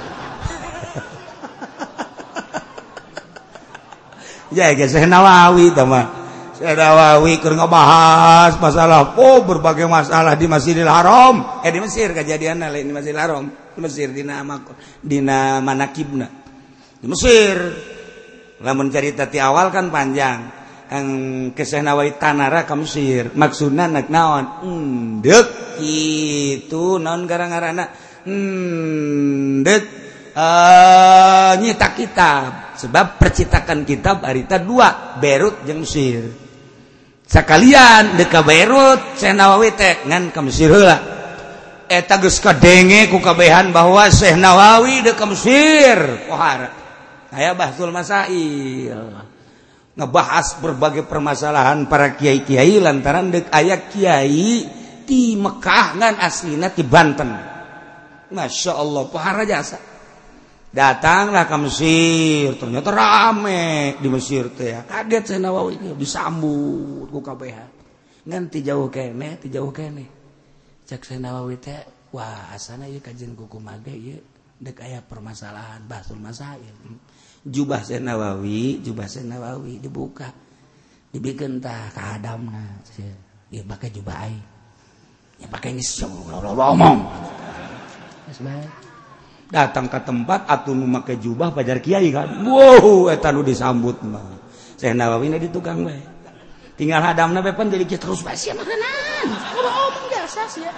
Ya ge Syekh Nawawi tah mah. Syekh Nawawi keur ngabahas masalah berbagai masalah di Masjidil Haram. Di Mesir kejadianna lain di Masjidil Haram. Di Mesir dina manakibna. Di Mesir. Lamun carita ti awal kan panjang. Ke Syekh Nawawi tanara ka Mesir. Maksudna nak naon? Deuk kitu naon gara-garana? Deuk nyita kitab. Sebab percetakan kitab harita 2, Beirut jeung Mesir. Sakalian dek ka Beirut, Syekh Nawawi teh ngan ka Mesir heula. Eta geus kadenge ku kabehan bahwa Syekh Nawawi dek ka Mesir. Pohara. Aya bahsul masail. Ngebahas berbagai permasalahan para kiai-kiai lantaran dek aya kiai ti Mekah ngan aslina ti Banten. Masya Allah, pohara jasa. Datanglah ke Mesir, ternyata rame di Mesir teh ya. Kaget Syekh Nawawi disambut ku kabeh. Ngan ti jauh keneh. Cek Syekh Nawawi teh, wah asana ieu kajian ku kumaha ge ieu deuk aya permasalahan bahsul masail. Jubah Syekh Nawawi dibuka. Dibikeun tah ka hadamna. Ieu make jubah aing. Ya pake geus ngomong. Geus bae. Datang ke tempat atuh nu make jubah pajar kiai kan. Wow, eta nu disambut mah. Syekh Nawawi na di tukang bae. Tinggal hadamna bae pan jadi terus bae sia makanan. Kudu omong jasa sia.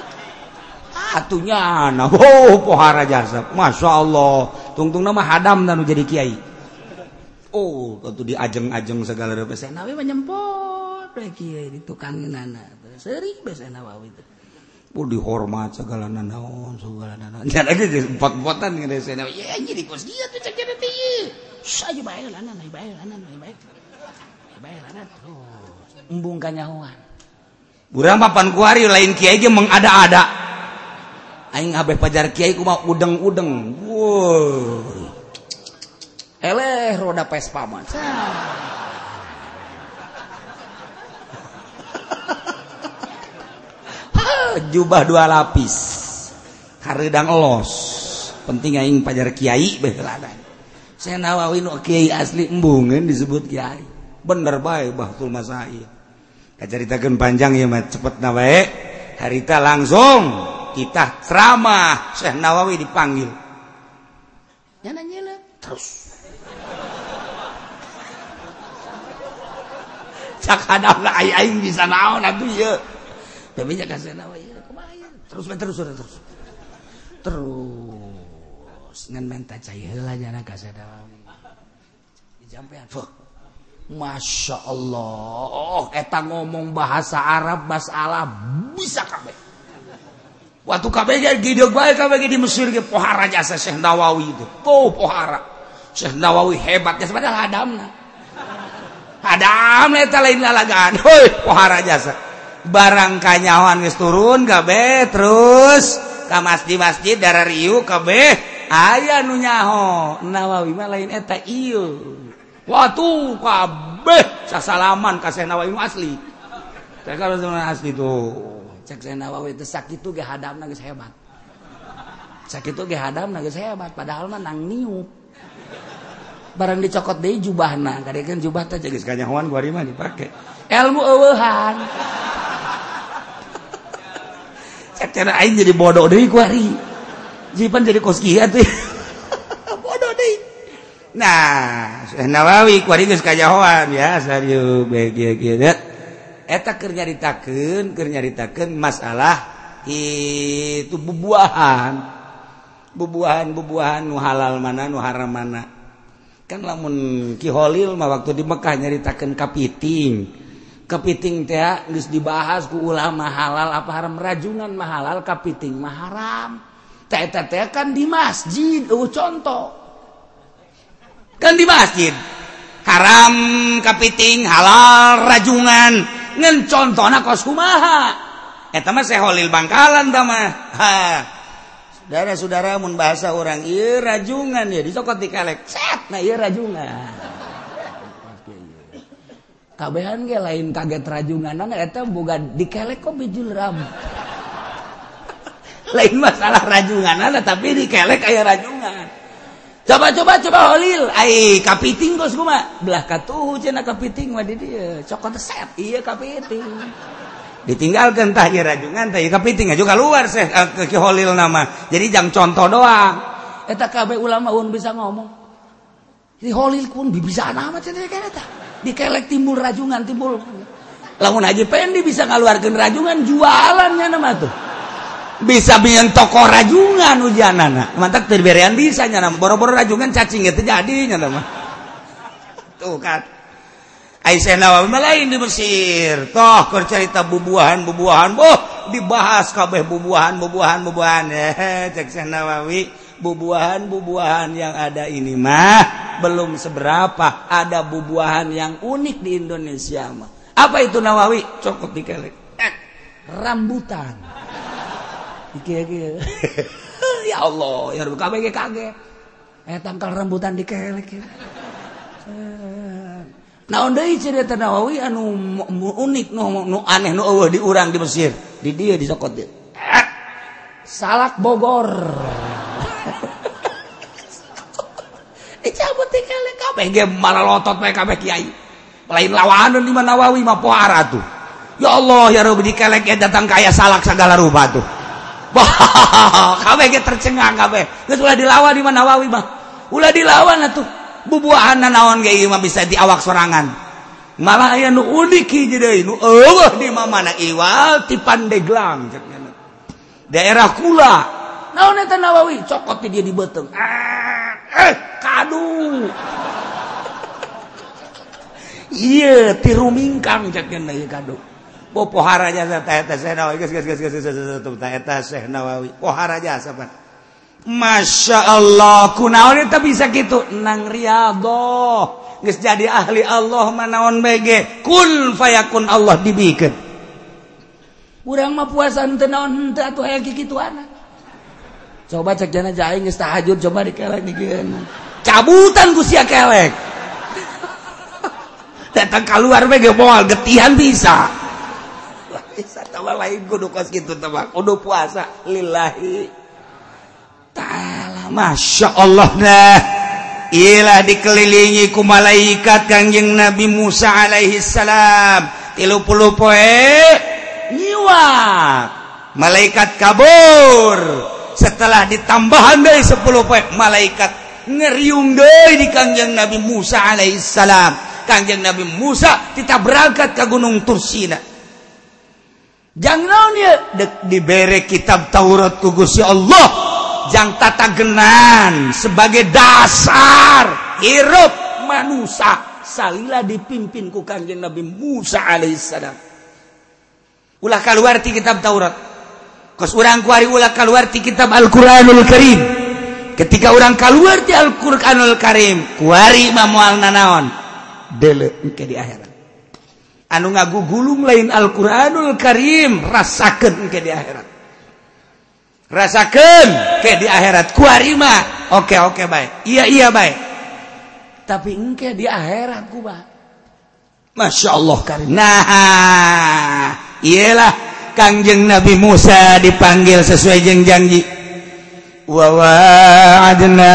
Atunya na, pohara jasa. Masyaallah. Tungtungna mah hadamna nu jadi kiai. Oh, atuh diajeng-ajeng segala rupa Syekh Nawawi mah nyempot bae kiai di tukangeunana. Seuri bae Syekh Nawawi teh. Dihormat segala naon. Jangan lagi empot-empotan ngene Syekh Nawawi. Ya jadi kos dia tuh cek dia teh. Saja bae lanan. Terus embung kanyahoan. Urang papan kuari lain kiai ge mengada-ada. Aing habeh pajar kiai kumaha udeng-udeng. Woi. Eleh roda Vespa mah. Jubah 2 lapis hareudang elos penting aing pajar kiai beuladan Syekh Nawawi nu kiai asli embungeun disebut kiai bener bae bahtul masail kacaritakeun panjang ieu mah cepetna bae harita langsung kita ceramah Syekh Nawawi dipanggil nyana terus cak hadapna aing bisa naon atuh ieu tapi jaga Syekh Nawawi terus ngan menta cai heula jana ka Syekh Nawawi dijampean Masya Allah eta ngomong bahasa Arab masalah bisa kabeh waktu kabeh gideug bae kabeh di Mesir ge pohara jasa Syekh Nawawi itu pohara Syekh Nawawi hebat jasa padahal hadam eta lain lalagaan heuh pohara jasa barang kanyawan geus turun kabeh terus ka masjid darah riu kabeh aya nu nyaho Nawawi mah lain eta ieu watu kabeh sasalaman ka Syekh Nawawi asli teh kalau asli tuh cek Syekh Nawawi teh sakitu ge hadamna geus hebat sakitu ge hadamna geus hebat padahal mah nang niup barang dicokot deui jubahna kadekeun jubah teh geus kanyahoan kuari mah dipake ilmu eueuhan cara aing jadi bodoh deui ku ari. Jipan jadi kos kieu teh. Bodoh deui. Nah, Syekh Nawawi ku ari geus kajahoan ya sarieu kieu eta keur nyaritakeun masalah itu bubuahan nu halal mana nu haram mana. Kan lamun Ki Holil mah waktu di Mekah nyaritakeun kapiting teh geus dibahas ku ulama halal apa haram rajungan mah halal kapiting mah haram teh kan di masjid contoh kan di masjid haram kapiting halal rajungan ngan contona kos kumaha eta mah Syekh Holil Bangkalan tah mah saudara mun bahasa orang ieu rajungan ya dicokot di kelek set nah ieu rajungan kabehan ge lain kaget rajunganan eta boga dikelek kok bijul rambut lain masalah rajunganan tapi dikelek aya rajungan coba holil ai kapiting geus kumaha belah katuh cenah kapiting mah di dieu cokot set ieu kapiting ditinggalkan tah ieu rajungan tah ieu kapiting juga keluar seh ke holil nama jadi jang contoh doang eta kabeh ulama un bisa ngomong di holil pun bisa nama cenah eta dikelek timbul rajungan timbul lamun Haji Pendi bisa ngaluarkeun rajungan jualannya nama tuh bisa bikin toko rajungan ujanana mantap terberean bisa nya nama boro-boro rajungan cacing teh jadi nya nama tuh kan Aisyah Nawawi lain di Mesir toh keur cerita bubuahan boh dibahas kabeh bubuahan cek Syekh Nawawi bubuahan yang ada ini mah belum seberapa ada bubuahan yang unik di Indonesia mah apa itu Nawawi cokot dikelek rambutan iki ya Allah ya kabeh ge kaget tangkal rambutan dikelek naon deui cerita Nawawi anu unik nu aneh nu eueuh di urang di Mesir di dieu dicokot dieu salak Bogor cabut dikelek kabeh ge malalotot bae kabeh kiai lain lawanan di mana Nawawi mah pohara tuh ya Allah ya Rabbi dikelek datang kaya salak segala rupa tuh kabeh ge tercengang kabeh geus ulah dilawan di mana Nawawi mah ulah dilawan atuh bubuahanna naon ge ieu mah bisa di awak sorangan malah aya nu unik hiji deui nu eueuh di mana iwal ti Pandeglang daerah Kula naon eta Nawawi cokot ti dia di beuteung kadu ieu ti rumingkang cekeun ieu kadu pohara jasa eta Syekh Nawawi geus eta Syekh Nawawi pohara jasa pan Masya Allah kunaon eta bisa gitu nang riyadhah geus jadi ahli Allah manaon bege kun fayakun Allah dibikeun urang mah puasa teu naon teu atuh aya kikituana coba cek jana jaing geus tahajud coba dikelek dikeun cabutan ku sia kelek datang keluar bege moal getihan bisa tawa lain kudu kos kitu teh kudu puasa lillahi ta'ala Masya Allah nah ilah dikelilingi ku malaikat Kangjeng Nabi Musa alaihi salam 30 poe nyiwak malaikat kabur setelah ditambahan dari 10 poe malaikat ngeriung deui di Kangjeng Nabi Musa alaihi salam Kangjeng Nabi Musa kita berangkat ke Gunung Tursina jang naon ieu dibere kitab Taurat ku Gusti Allah jang tata genan sebagai dasar hirup manusia salila dipimpin ku Kangjeng Nabi Musa alaihissalam ulah kaluar ti kitab Taurat kos urang kuari ulah kaluar ti kitab Al-Qur'anul Karim ketika urang kaluar ti Al-Qur'anul Karim kuari mah moal nanaon deuleu engke di akhirat anu ngagugulung lain Al-Qur'anul Karim rasakeun engke di akhirat rasakeun ke di akhirat kuari mah oke baik iya baik tapi engke di akhirat ku bah Masya Allah karim nah iyalah Kangjeng Nabi Musa dipanggil sesuai jeung janji wa wa'adna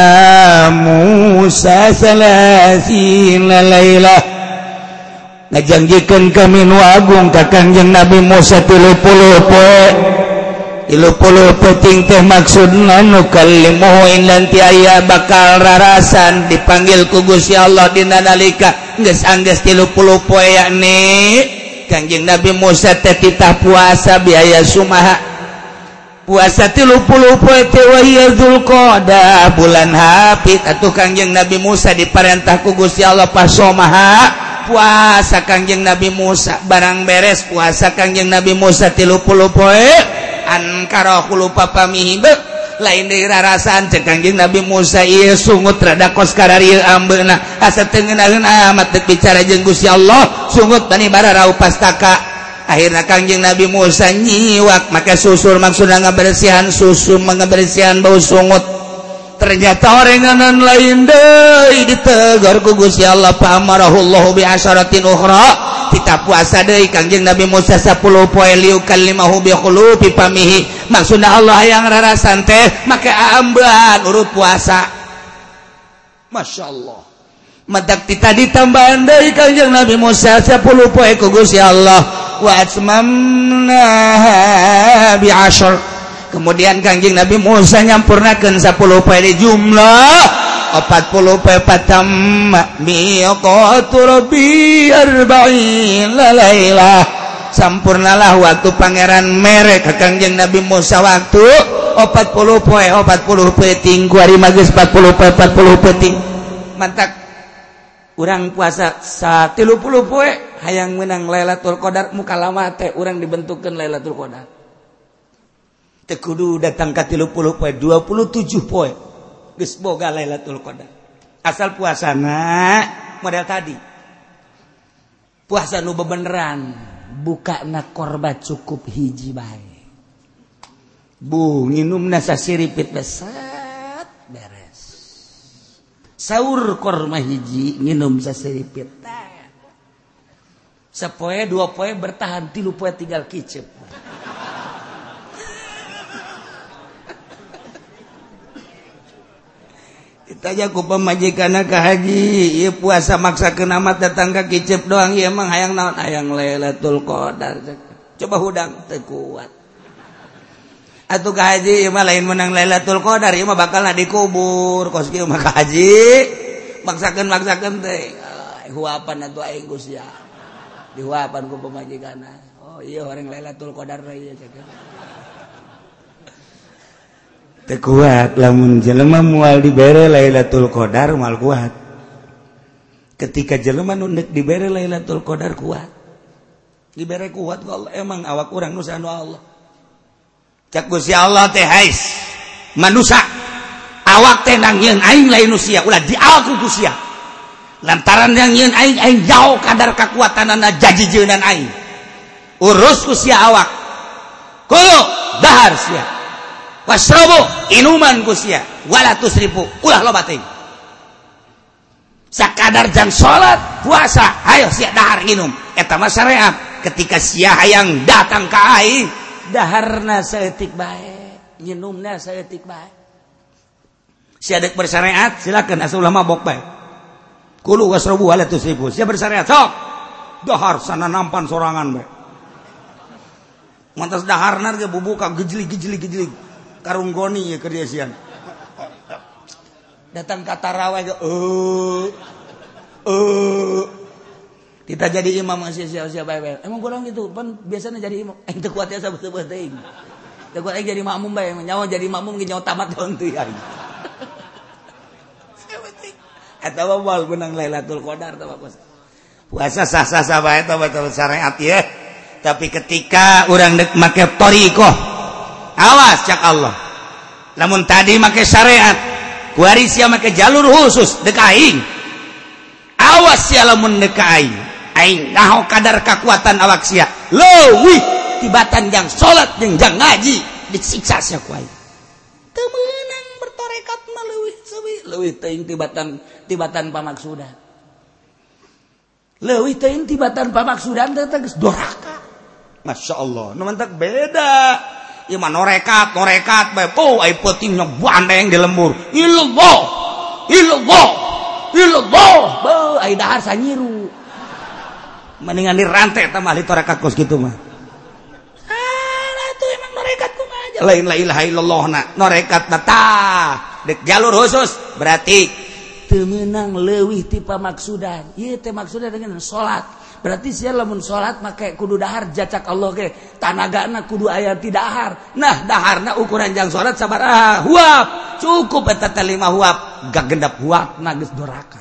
Musa salasina lailah ngajanggikeun kami nu agung ka Kangjeng Nabi Musa 30 poe 30 peting teh maksudna nu kallimuhu indan ti aya bakal rarasan dipanggil ku Gusti Allah dina nalika geus anggeus 30 poe yakni Kangjeng Nabi Musa teh titah puasa biaya sumaha puasa 30 poe teh wa hiya Zulqa'dah bulan hapit atuh Kangjeng Nabi Musa diparentah ku Gusti Allah pas somaha puasa Kangjeng Nabi Musa barang beres puasa Kangjeng Nabi Musa 30 poe ankara lupa pamih lain dari rarasan cek Kangjeng Nabi Musa ieu sungut rada kos kararieu ambeuna asa teu ngeunaheun amat teu bicara jeung Gusti Allah sungut bani bara rau pastaka akhirnya Kangjeng Nabi Musa nyiwak maka susul maksudnya ngabersihan susu mengebersihan bau sungut ternyata orenganan lain deui ditegur ku Gusti Allah fa amarahullahu bi asyaratin ukhra kita puasa deui Kangjeng Nabi Musa 10 poe liukallimahu bi khulufi famihi maksudna Allah yang rarasan teh make ambean urut puasa masyaallah madak tadi tambahan deui Kangjeng Nabi Musa 10 poe ku Gusti Allah wa atmamna bi asyar kemudian Kangjeng Nabi Musa nyampurnakeun 10 poe di jumlah 40 poe patamma miqatu rabbi 40 lailah sampurnalah waktu pangeran merek ka Kangjeng Nabi Musa waktu 40 poe ting kuari magis 40 poe ting mantak urang puasa 30 poe hayang menang Lailatul Qadar muka lama teh urang dibentukkeun Lailatul Qadar teu kudu datang ka 30 poe 27 poe geus boga Lailatul Qadar asal puasana model tadi puasa nu bebeneran bukana korban cukup hiji bae bu nginumna sasiripit besat beres sahur korma hiji nginum sasiripit sapoe 2 poe bertahan 3 poe tinggal kicep ditanya ku pamajikanna ka haji ieu puasa maksakeun amat datang ka kicep doang ieu emang hayang naon hayang Lailatul Qadar coba hudang teu kuat atuh ka haji ieu mah lain menang Lailatul Qadar ieu mah bakalna dikubur kos kieu mah ka haji maksakeun teh huapan atuh aing Gusti dihuapan ku pamajikanna oh ieu horeng Lailatul Qadar ieu teu kuat lamun jelema moal dibere Lailatul Qadar moal kuat ketika jelema nu neuk dibere Lailatul Qadar kuat dibere kuat ku Allah emang awak urang nu sanu Allah cak Gusti Allah teh hais manusia awak teh nangieun aing lain nu sia ulah dialku ku sia lantaran yang nyieun aing jauh kadar kakuatanana jajijeunan aing urus ku sia awak kulo dahar sia wasrobu inuman ku sia wala tusrifu ulah loba teuing sakadar jam salat puasa hayo sia dahar nginum eta mah syariat ketika sia hayang datang ka aing daharna saeutik bae nginumna saeutik bae sia deuk bersyariat silakeun asa ulah mabok bae kulu wasrobu wala tusrifu sia bersyariat sok dahar sana nampan sorangan bae mantas daharna ge bubuka gejlik karung goni ya kerjasian datang kata rawai ke kita jadi imam masih siapa emang kurang gitu pan biasanya jadi imam teu kuat ya sabeuh-sabeuh teuing teu kuat jadi makmum bae nyawa jadi makmum ge nyawa tamat doang teuing eta mah moal menang Lailatul Qadar tah puasa sah-sah bae tah betul syariat ya tapi ketika urang deuk make thariqah awas cak Allah lamun tadi make syariat kuari sia make jalur khusus dek aing awas sia lamun dek aing naho kadar kekuatan awak sia leuwih tibatan jang salat jeung jang ngaji disiksa sia ku aing teu meunang bertorekat mah leuwih teuing tibatan pamaksudan leuwih teuing tibatan pamaksudan teh geus doraka masyaallah nu mantak beda ieu mah norekat bae po ai peutingna bandeng di lembur illallah be ai dahar sanyiru mendingan dirantai tah mah torekat kos kitu mah atuh emang norekat kumaha aja lain la ilaha illallahna norekatna tah dek jalur khusus berarti teu meunang leuwih ti pamaksudan ieu teh maksudna dengan salat berarti sia lamun salat make kudu dahar jacak Allah ge tanagana kudu aya ti dahar nah daharna ukuran jang salat sabaraha huap cukup eta teh 5 huap gak gendap huapna geus doraka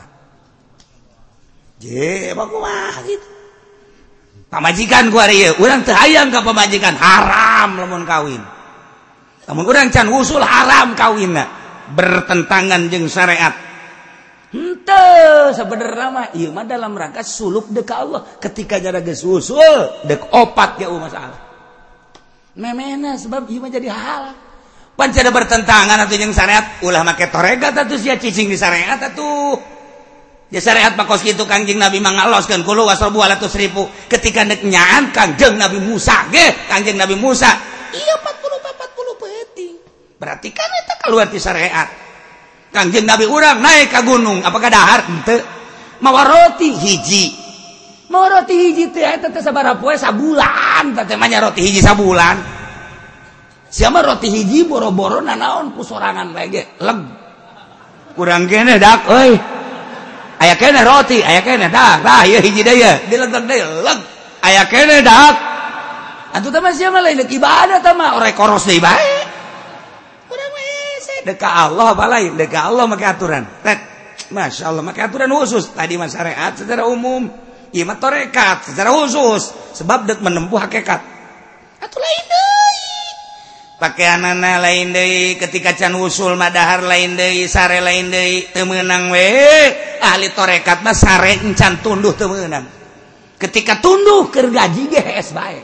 je kumaha gitu pamajikan ku ari ieu urang teu hayang ka pamajikan haram lamun kawin lamun urang can usul haram kawinna bertentangan jeung syariat sebenarnya mah ieu mah dalam rangka suluk deuk ka Allah. Ketika jada geus usul deuk opat ge masalah. Memena sebab ieu mah jadi halal. Pancada bertentangan atuh jeung syariat, ulah make toregat atuh sia cicing di syariat atuh. Ya syariat pakos kitu Kangjeng Nabi mangaloskeun kulu wasrobu ala tusrifu. Ketika nek nyaan Kangjeng Nabi Musa ge, Kangjeng Nabi Musa, iya 40 peuting. Berarti kan eta kaluar ti syariat. Kangjeng Nabi urang naik ka gunung, apakah dahar henteu? Mawa roti hiji. Mawa roti hiji teh eta teh sabaraha poe sabulan, teh mah nya roti hiji sabulan. Siapa roti hiji boro-boro nanaon ku sorangan lagi leg kurang kene dak euy aya kene roti aya kene dak tah ieu hiji deui dilegeg deui leg aya kene dak atuh teh mah sia mah lain ibadah teh mah orek koros deui bae urang mah hese deuk ka Allah apa lain deuk ka Allah make aturan tet masyaallah make aturan khusus tadi mah syariat secara umum ieu mah tarekat secara khusus sebab deuk menempuh hakikat atuh lain deui pakaianana lain deui ketika can usul madahar lain deui sare lain deui teu meunang we ahli tarekat mah sare encan tunduh teu meunang ketika tunduh keur gaji ge hees bae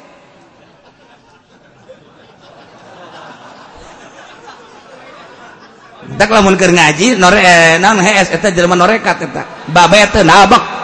tak lamun keur ngaji naon hees eta jelema norekat eta babe teu nabek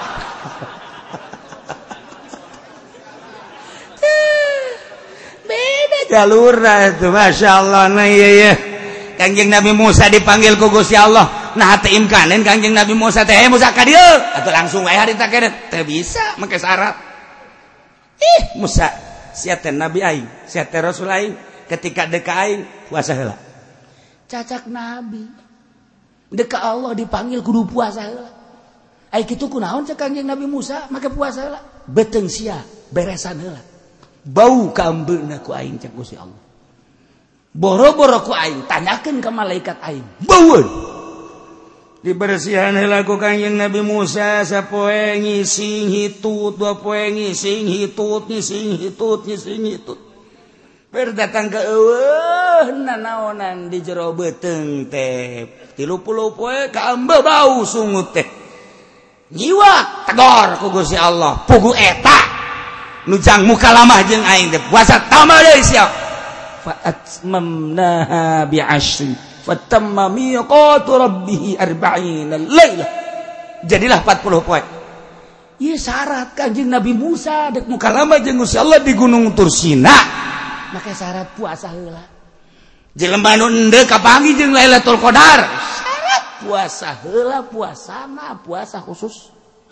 galura itu masyaallah nah iya Kangjeng Nabi Musa dipanggil ku Gusti Allah nah teu imkanin Kangjeng Nabi Musa teh Musa ka dieu atuh langsung wae harita keneh teu bisa make syarat Musa sia teh nabi aing sia teh rasul aing ketika deuk ka aing puasa heula cacak nabi deuk ka Allah dipanggil kudu puasa heula ai kitu kunaon cek Kangjeng Nabi Musa make puasa heula beteung sia beresan heula bau ka ambeuna ku aing cek Gusti Allah. Boro-boro ku aing tanyakeun ka malaikat aing. Baueun. Dibersihan heula ku Kangjeng Nabi Musa sapoe ngising hitut, dua poe ngising hitut. Berdatang ka eueuh nanaonan di jero beuteung teh. 30 poe ka ambe bau sungut teh. Nyiwak tegor ku Gusti Allah. Pugu eta nujang muka lamah jeung aing teh puasa tambah deui sia fa atmamnaha bi 'ashrin fatamma miqatu rabbih 40 lailah jadilah 40 poe ieu syarat Kanjeng Nabi Musa dek muka lamah jeung Gusti Allah di Gunung Tursina make syarat puasa heula jelema nu endeu kapanggih jeung Lailatul Qadar syarat puasa heula puasana puasa khusus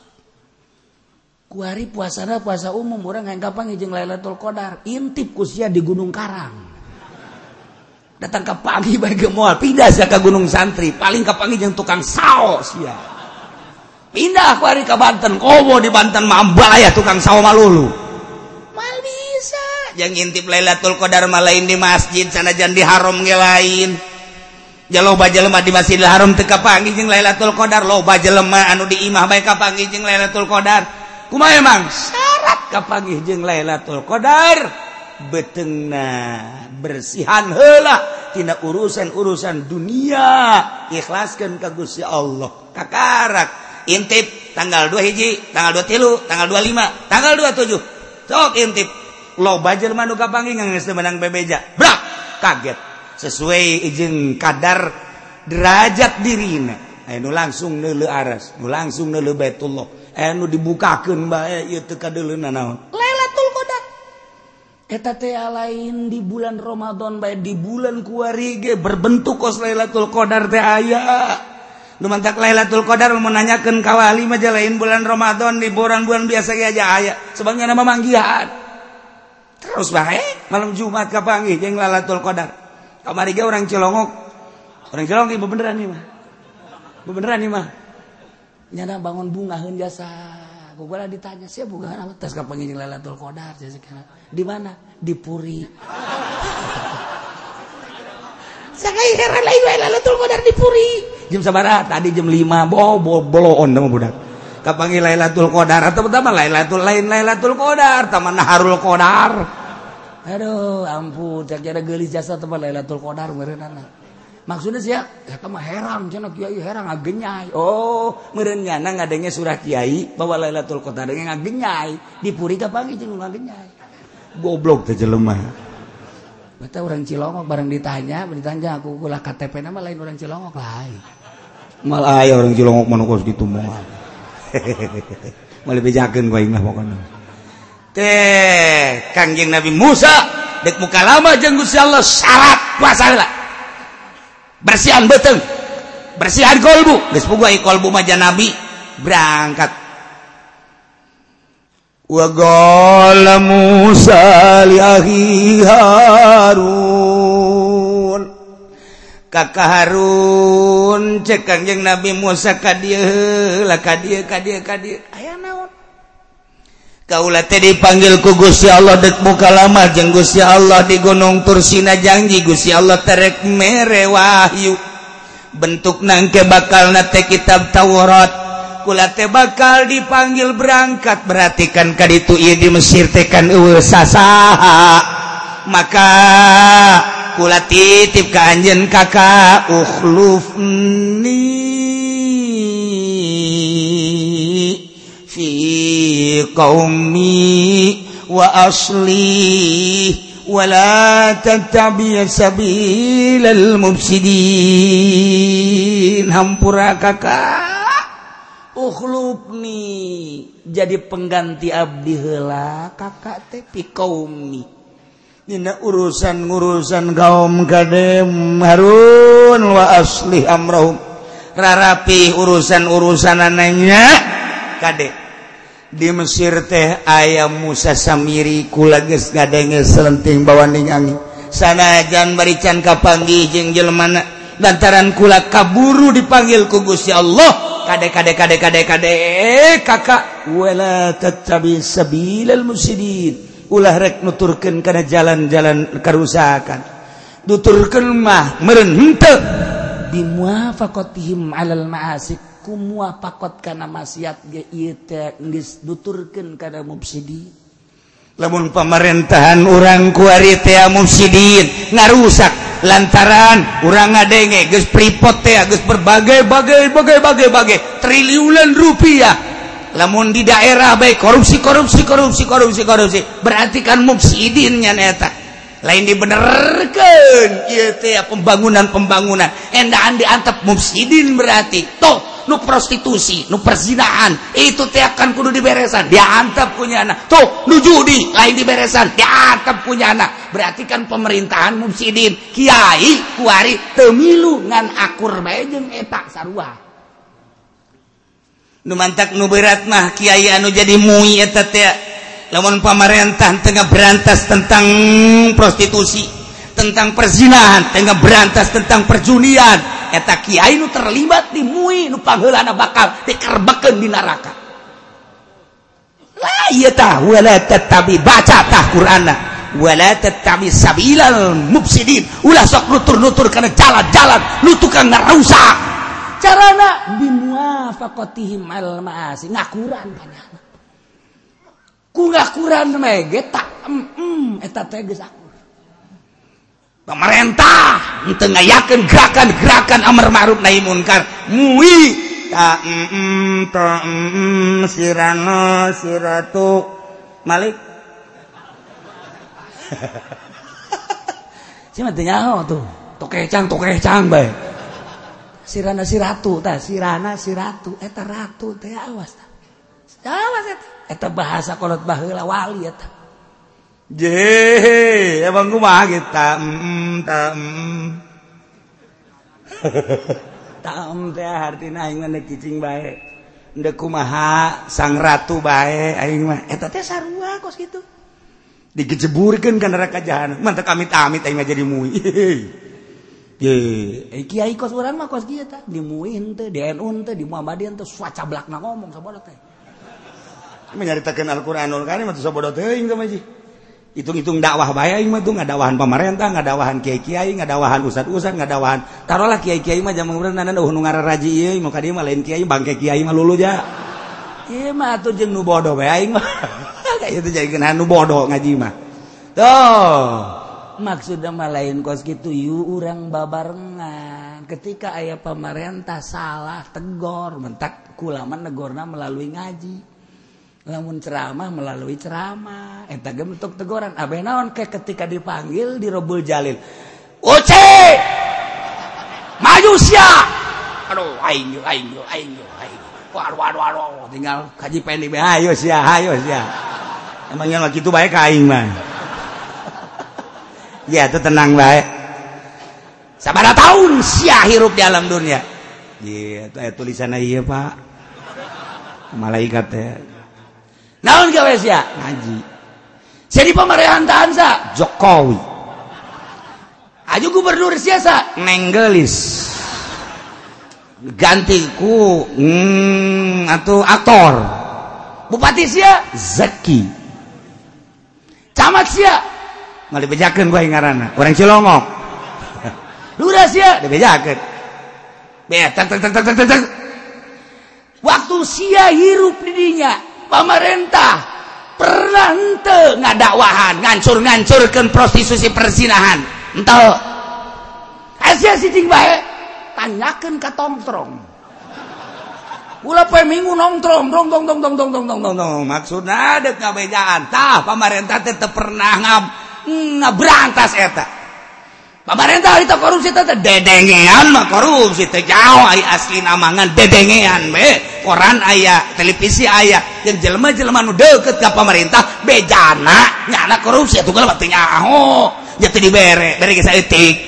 kuari puasana puasa umum orang yang kapanggih jeung Lailatul Qadar intip ku sia di Gunung Karang datang ka pagi bae ge moal pindah sia ka Gunung Santri paling kapanggih jeung tukang sao sia pindah kuari ka Banten kobo di Banten mambal aya tukang sao malulu mal bisa yang intip Lailatul Qadar mah lain di masjid sanajan di haram ge lain jaloba jelema di Masjidil Haram teu kapanggih jeung Lailatul Qadar loba jelema anu di imah bae kapanggih jeung Lailatul Qadar kumaha emang syarat kapanggih jeung Lailatul Qadar beteungna bersihan heula tina urusan-urusan dunia ikhlaskeun ka Gusti Allah kakarak intip tanggal 2 hiji tanggal 23 tanggal 25 tanggal 27 sok intip loba jelema nu kapanggih geus menang bebeja brak kaget sesuai jeung kadar derajat dirina anu langsung neuleuh aras nu langsung neuleuh Baitullah anu dibukakeun bae ieu teu kadeuleuna naon Lailatul Qadar eta teh lain di bulan Ramadan bae di bulan kuari ge berbentuk kos Lailatul Qadar teh aya nu mantak Lailatul Qadar mun nanyakeun ka wali mah lain bulan Ramadan di bulan-bulan biasa ge aja aya sebabnya nama manggihan terus bae malam Jumat kapanggih jeung Lailatul Qadar kamari ge orang Cilongok ieu beneran nih mah beneran nih mah nyana bangun bungaheun jasa gugula ditanya sia bungaheun apa tes kapanggih jeung Lailatul Qadar di mana di Puri sakai heran lain Lailatul Qadar di Puri jam sabaraha tadi jam 5 boloon mah budak kapanggih Lailatul Qadar atau pertama Lailatul Qadar taman Naharul Qadar aduh ampun cak ada geulis jasa teh Lailatul Qadar meureunana Maksudnya sih eta mah herang cenah kiai herang ngagenyai. Oh, meureun nyana ngadenge surah kiai bahwa Lailatul Qadar ngagenyai, dipuri ka panggih jeung ngagenyai. Goblok teh jelema. Beta orang Cilongok bareng ditanya aku ulah KTP nama lain orang Cilongok lain. Mal aya orang Cilongok mah kos kitu moal. Mali bejakeun ku aing mah pokona. Teh Kangjeng Nabi Musa dek muka lama jeung Gusti Allah syarat puasa heula. Bersihan beuteung. Bersihan kolbu, geus boga kolbu mah Nabi berangkat. Wa qala Musa li akhi Harun. Kakak Harun cek Kangjeng Nabi Musa ka dieu heula ka dieu aya naon? Kaula teh dipanggil ku Gusti Allah dek muka lama jeung Gusti Allah di Gunung Tursina janji Gusti Allah terek mere wahyu bentukna engke bakalna teh kitab Taurat kula teh bakal dipanggil berangkat berartikan ka ditu ieu di Mesir teh kan eueuh sasaha maka kula titip ka anjeun kakak ukhlufni fi qaumi wa asli wa la tattabi' sabilal mufsidin. Hampura kakak ukhlufni jadi pengganti abdi heula kakak teh fi qaumi dina urusan kaum kadem Harun wa asli amrahum rarapi urusan ananya kade di Mesir teh aya Musa Samiri kula geus ngadenge selenting bawaning angin sanajan barican kapanggih jeung jelemana lantaran kula kaburu dipanggil ku Gusti Allah kade kakak wala tattabi sabilal mufsidin ulah rek nuturkeun kana jalan-jalan karusakan nuturkeun mah meureun henteu bimuafaqatihim alal ma'asik kumuafaqat kana maksiat ge ieu teh geus nuturkeun kana mufsidin. Lamun pamerintahan urang ku ari teh mufsidin ngarusak lantaran urang ngadenge geus pripot teh geus berbagai triliunan rupiah. Lamun di daerah bae korupsi berarti kan mufsidin nya eta. Lain dibenerkeun ieu teh pembangunan endaan diantep mufsidin berarti toh nu prostitusi nu perzinahan itu teh akan kudu diberesan diantep punyana tuh nu judi lain diberesan diantep punyana berarti kan pemerintahan mufsidin kiai kuari teu milu ngan akur bae jeung eta sarua nu mantak nu berat mah kiai anu jadi mui eta teh lamun pamarentah tengah berantas tentang prostitusi tentang perzinahan tengah berantas tentang perjunian eta kiai nu terlibat di mui nu pangheulana bakal dikerbekeun di neraka la ieu tah wala tattabi baca tah Qur'anna wala tattabi sabilal mufsidin ulah sok nutur-nutur kana jalan-jalan nu tukang ngarusak carana bimuafaqatihim al ma'asi ngakuran panjana ku ngakuran mege tak eta teh geus pemerintah teu ngayakeun gerakan amar ma'ruf nahi munkar mui sirana siratu Malik cenah teh nyaho tuh tokecang bae sirana siratu tah sirana siratu eta ratu teh awas eta bahasa kolot baheula wali eta je emang kumaha kita taem teh artina aing mah kicing bae endeu kumaha sang ratu bae aing mah eta teh sarua kos kitu digejeburkeun ka neraka jahanam mantep amit-amit aing mah jadi mui ye kiai kos urang mah kos kieu tah di mui henteu di NU henteu di Muhammadiyah henteu suacablakna ngomong sabodo teh menyaritakeun Al-Qur'anul Karim atuh sabodo teuing ka maji hitung-hitung dakwah bae aing mah tuh ngadawahan pemerintah, ngadawahan kiai-kiai, ngadawahan ustad-ustad, ngadawahan taruhlah kiai-kiai mah jaman urang eueuh nu ngararaji ieu mah ka dieu mah lain kiai bangke kiai mah lulu ja. Ieu mah atuh jeung nu bodoh bae aing mah. Kayak itu jadi nu bodoh ngaji mah. Tuh. Maksudna mah lain kos kitu ieu urang babarengan. ketika aya pemerintah salah tegor mentak kulaman negorna melalui ngaji lamun ceramah melalui ceramah eta ge bentuk teguran abeh naon ke ketika dipanggil di Robul Jalil Uce maju sia aduh aing waduh tinggal kaji pendi be hayo sia emangnya lagi itu bae ka aing mah ya itu tenang bae sabaraha tahun sia hirup di alam dunia ieu tulisan ieu Pak malaikat teh naon gawe sia ngaji jadi pemerintahan sa Jokowi aju gubernur sia sa Nenggelis ganti ku atuh aktor bupati sia Zaki camat sia nggak dibejakeun bae ngaranna orang Cilongok lurah sia dibejakeun betak waktu sia hirup di dinya pemerintah pernah henteu ngadakwahan ngancur-ngancurkeun prostitusi perzinahan henteu sia sicing bae tanyakeun ka tongtrong ulah poe minggu nongtrong dong maksudna deuk ngabejaan tah pamarentah teh teu pernah ngabrantas eta pamarentah eta korupsi teh dedengean mah korupsi teh jauh ai asli namangan dedengean be koran aya televisi aya jeung jelema-jelema nu deukeut ka pamarentah bejana nyana korupsi atuh geus teu nyaho nya teu dibere bere ge saeutik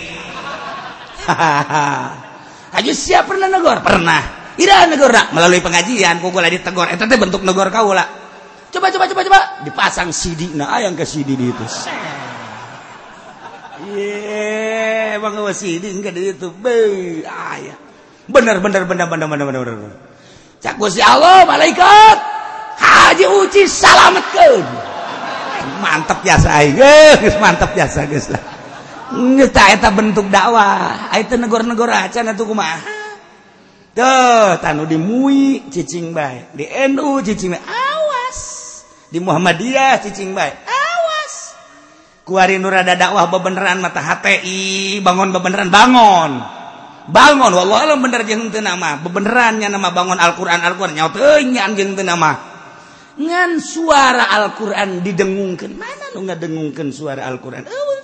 aju sia pernah negor pernah ira negorna melalui pengajian kugula ditegor eta teh bentuk negor kaula coba dipasang CD-na aya ke CD di itu ye bang CD engke di itu be aya bener cak Gusti Allah malaikat haji uci salametkeun mantep biasa aing geus mantep biasa geus lah eta bentuk dakwah eta negor-negor acan atuh kumaha tuh tanu di MUI cicing bae di NU cicing bae awas di Muhammadiyah cicing bae awas kuari nu rada dakwah bebeneran mata HTI bangun bebeneran bangun wallahi alam bener jeung teu nama bebeneran nya nama bangun Al-Qur'an nyaho teu nya jeung teu nama ngan suara Al-Qur'an didengungkeun mana nu ngadengungkeun suara Al-Qur'an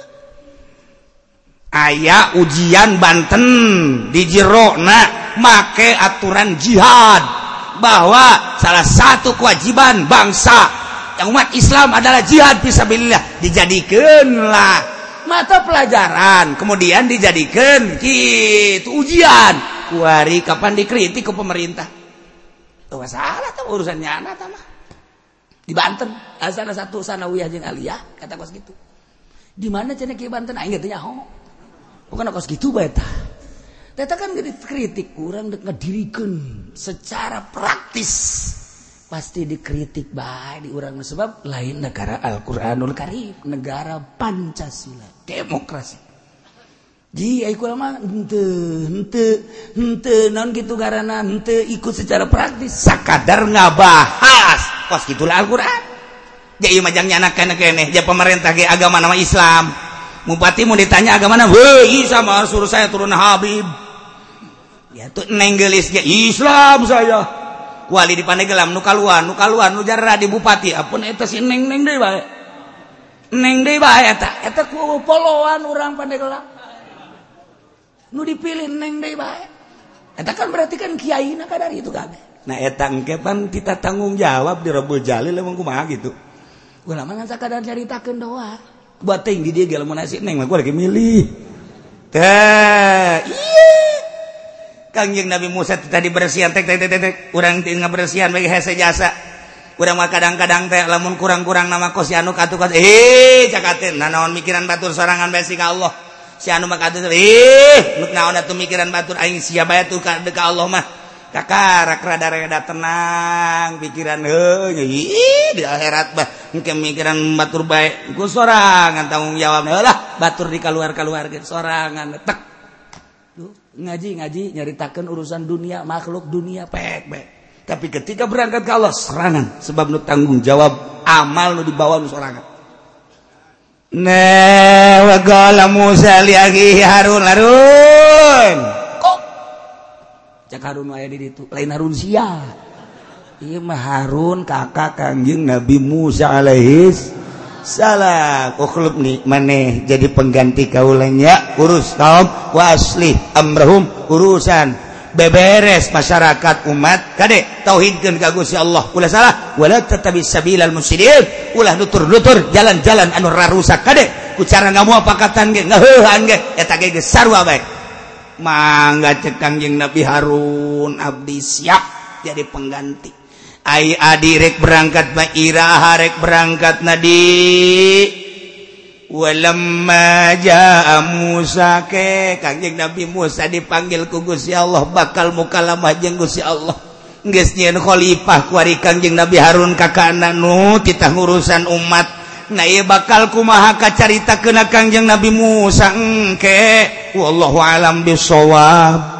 aya ujian Banten di jerona make aturan jihad bahwa salah satu kewajiban bangsa yang umat Islam adalah jihad fisabilillah dijadikeunlah mata pelajaran kemudian dijadikeun kitu ujian kuari kapan dikritik ke pemerintah teu masalah tah urusan nyana tah mah di Banten salah satu sanawiyah jeung aliyah kata kos gitu di mana cenah ki Banten aing teh nyaho bukan kos gitu bae tah eta kan dikritik kurang ngedirikeun secara praktis pasti dikritik bae di urang sebab lain negara Al-Qur'anul Karim negara Pancasila demokrasi ji ai kula mah henteu naon kitu ngaranna henteu ikut secara praktis sakadar ngabahas kos gitulah Al-Qur'an ja ieu mah jang nyanakeun keneh ja pemerintah ge agama nama Islam bupati mau ditanya agama mana weh sama suruh saya turun Habib ya tuh Nenggelis ya Islam saya kuali di Pandeglang nu kaluan nu jarra di bupati apun eta si neng deui bae eta ku poloan urang Pandeglang nu dipilih neng deui bae eta kan berarti kan kiaina kadari itu kabeh nah eta engke pan kita tanggung jawab di Robul Jalil emang kumaha gitu ulama ngan sakadar caritakeun doa buat ting di dia ge lamun nasi neng mah gua lagi milih teh iya Kangjeng Nabi Musa tadi bersihan tek urang teu ngabersihan bagi hese jasa urang mah kadang-kadang teh lamun kurang-kurang nama kos si anu katu cakateun naon mikiran batur sorangan bae si ka Allah si anu mah katu nuk naon atuh mikiran batur aing sia bae tuh ka Allah mah kakarak rada tenang pikiran di akhirat bah engke mikiran batur bae ku sorangan tanggung jawab lah batur di kaluar-kaluarkeun sorangan tek ngaji nyaritakeun urusan dunia makhluk dunia pek bae tapi ketika berangkat ke Allah serangan sebab nu tanggung jawab amal nu dibawa nu sorangan wa qala Musa li akhihi Harun cak Harun aya di ditu lain Harun sia ieu mah Harun kakak Kangjeng Nabi Musa alaihis salah ukhlub nih maneh jadi pengganti kaulanya urus kaum wa aslih amrahum urusan beberes masyarakat umat kade tauhidkeun ka Gusti Allah ulah salah wala tattabi sabilal mufsidin ulah nutur-nutur jalan-jalan anu rarusak kade ku cara ngamuapakatan ge ngaheuhan ge eta ge geus sarua bae mangga cek Kangjeng Nabi Harun abdi siap jadi pengganti ai adi rek berangkat mah iraha rek berangkat nadi walamma jaa Musa ke Kangjeng Nabi Musa dipanggil ku Gusti Allah bakal mukalamah jeung Gusti Allah geus nyieun khalifah ku ari Kangjeng Nabi Harun kakana nu titah ngurusan umat na ieu bakal kumaha kacaritakeun Kangjeng Nabi Musa engke wallahu alam bisawab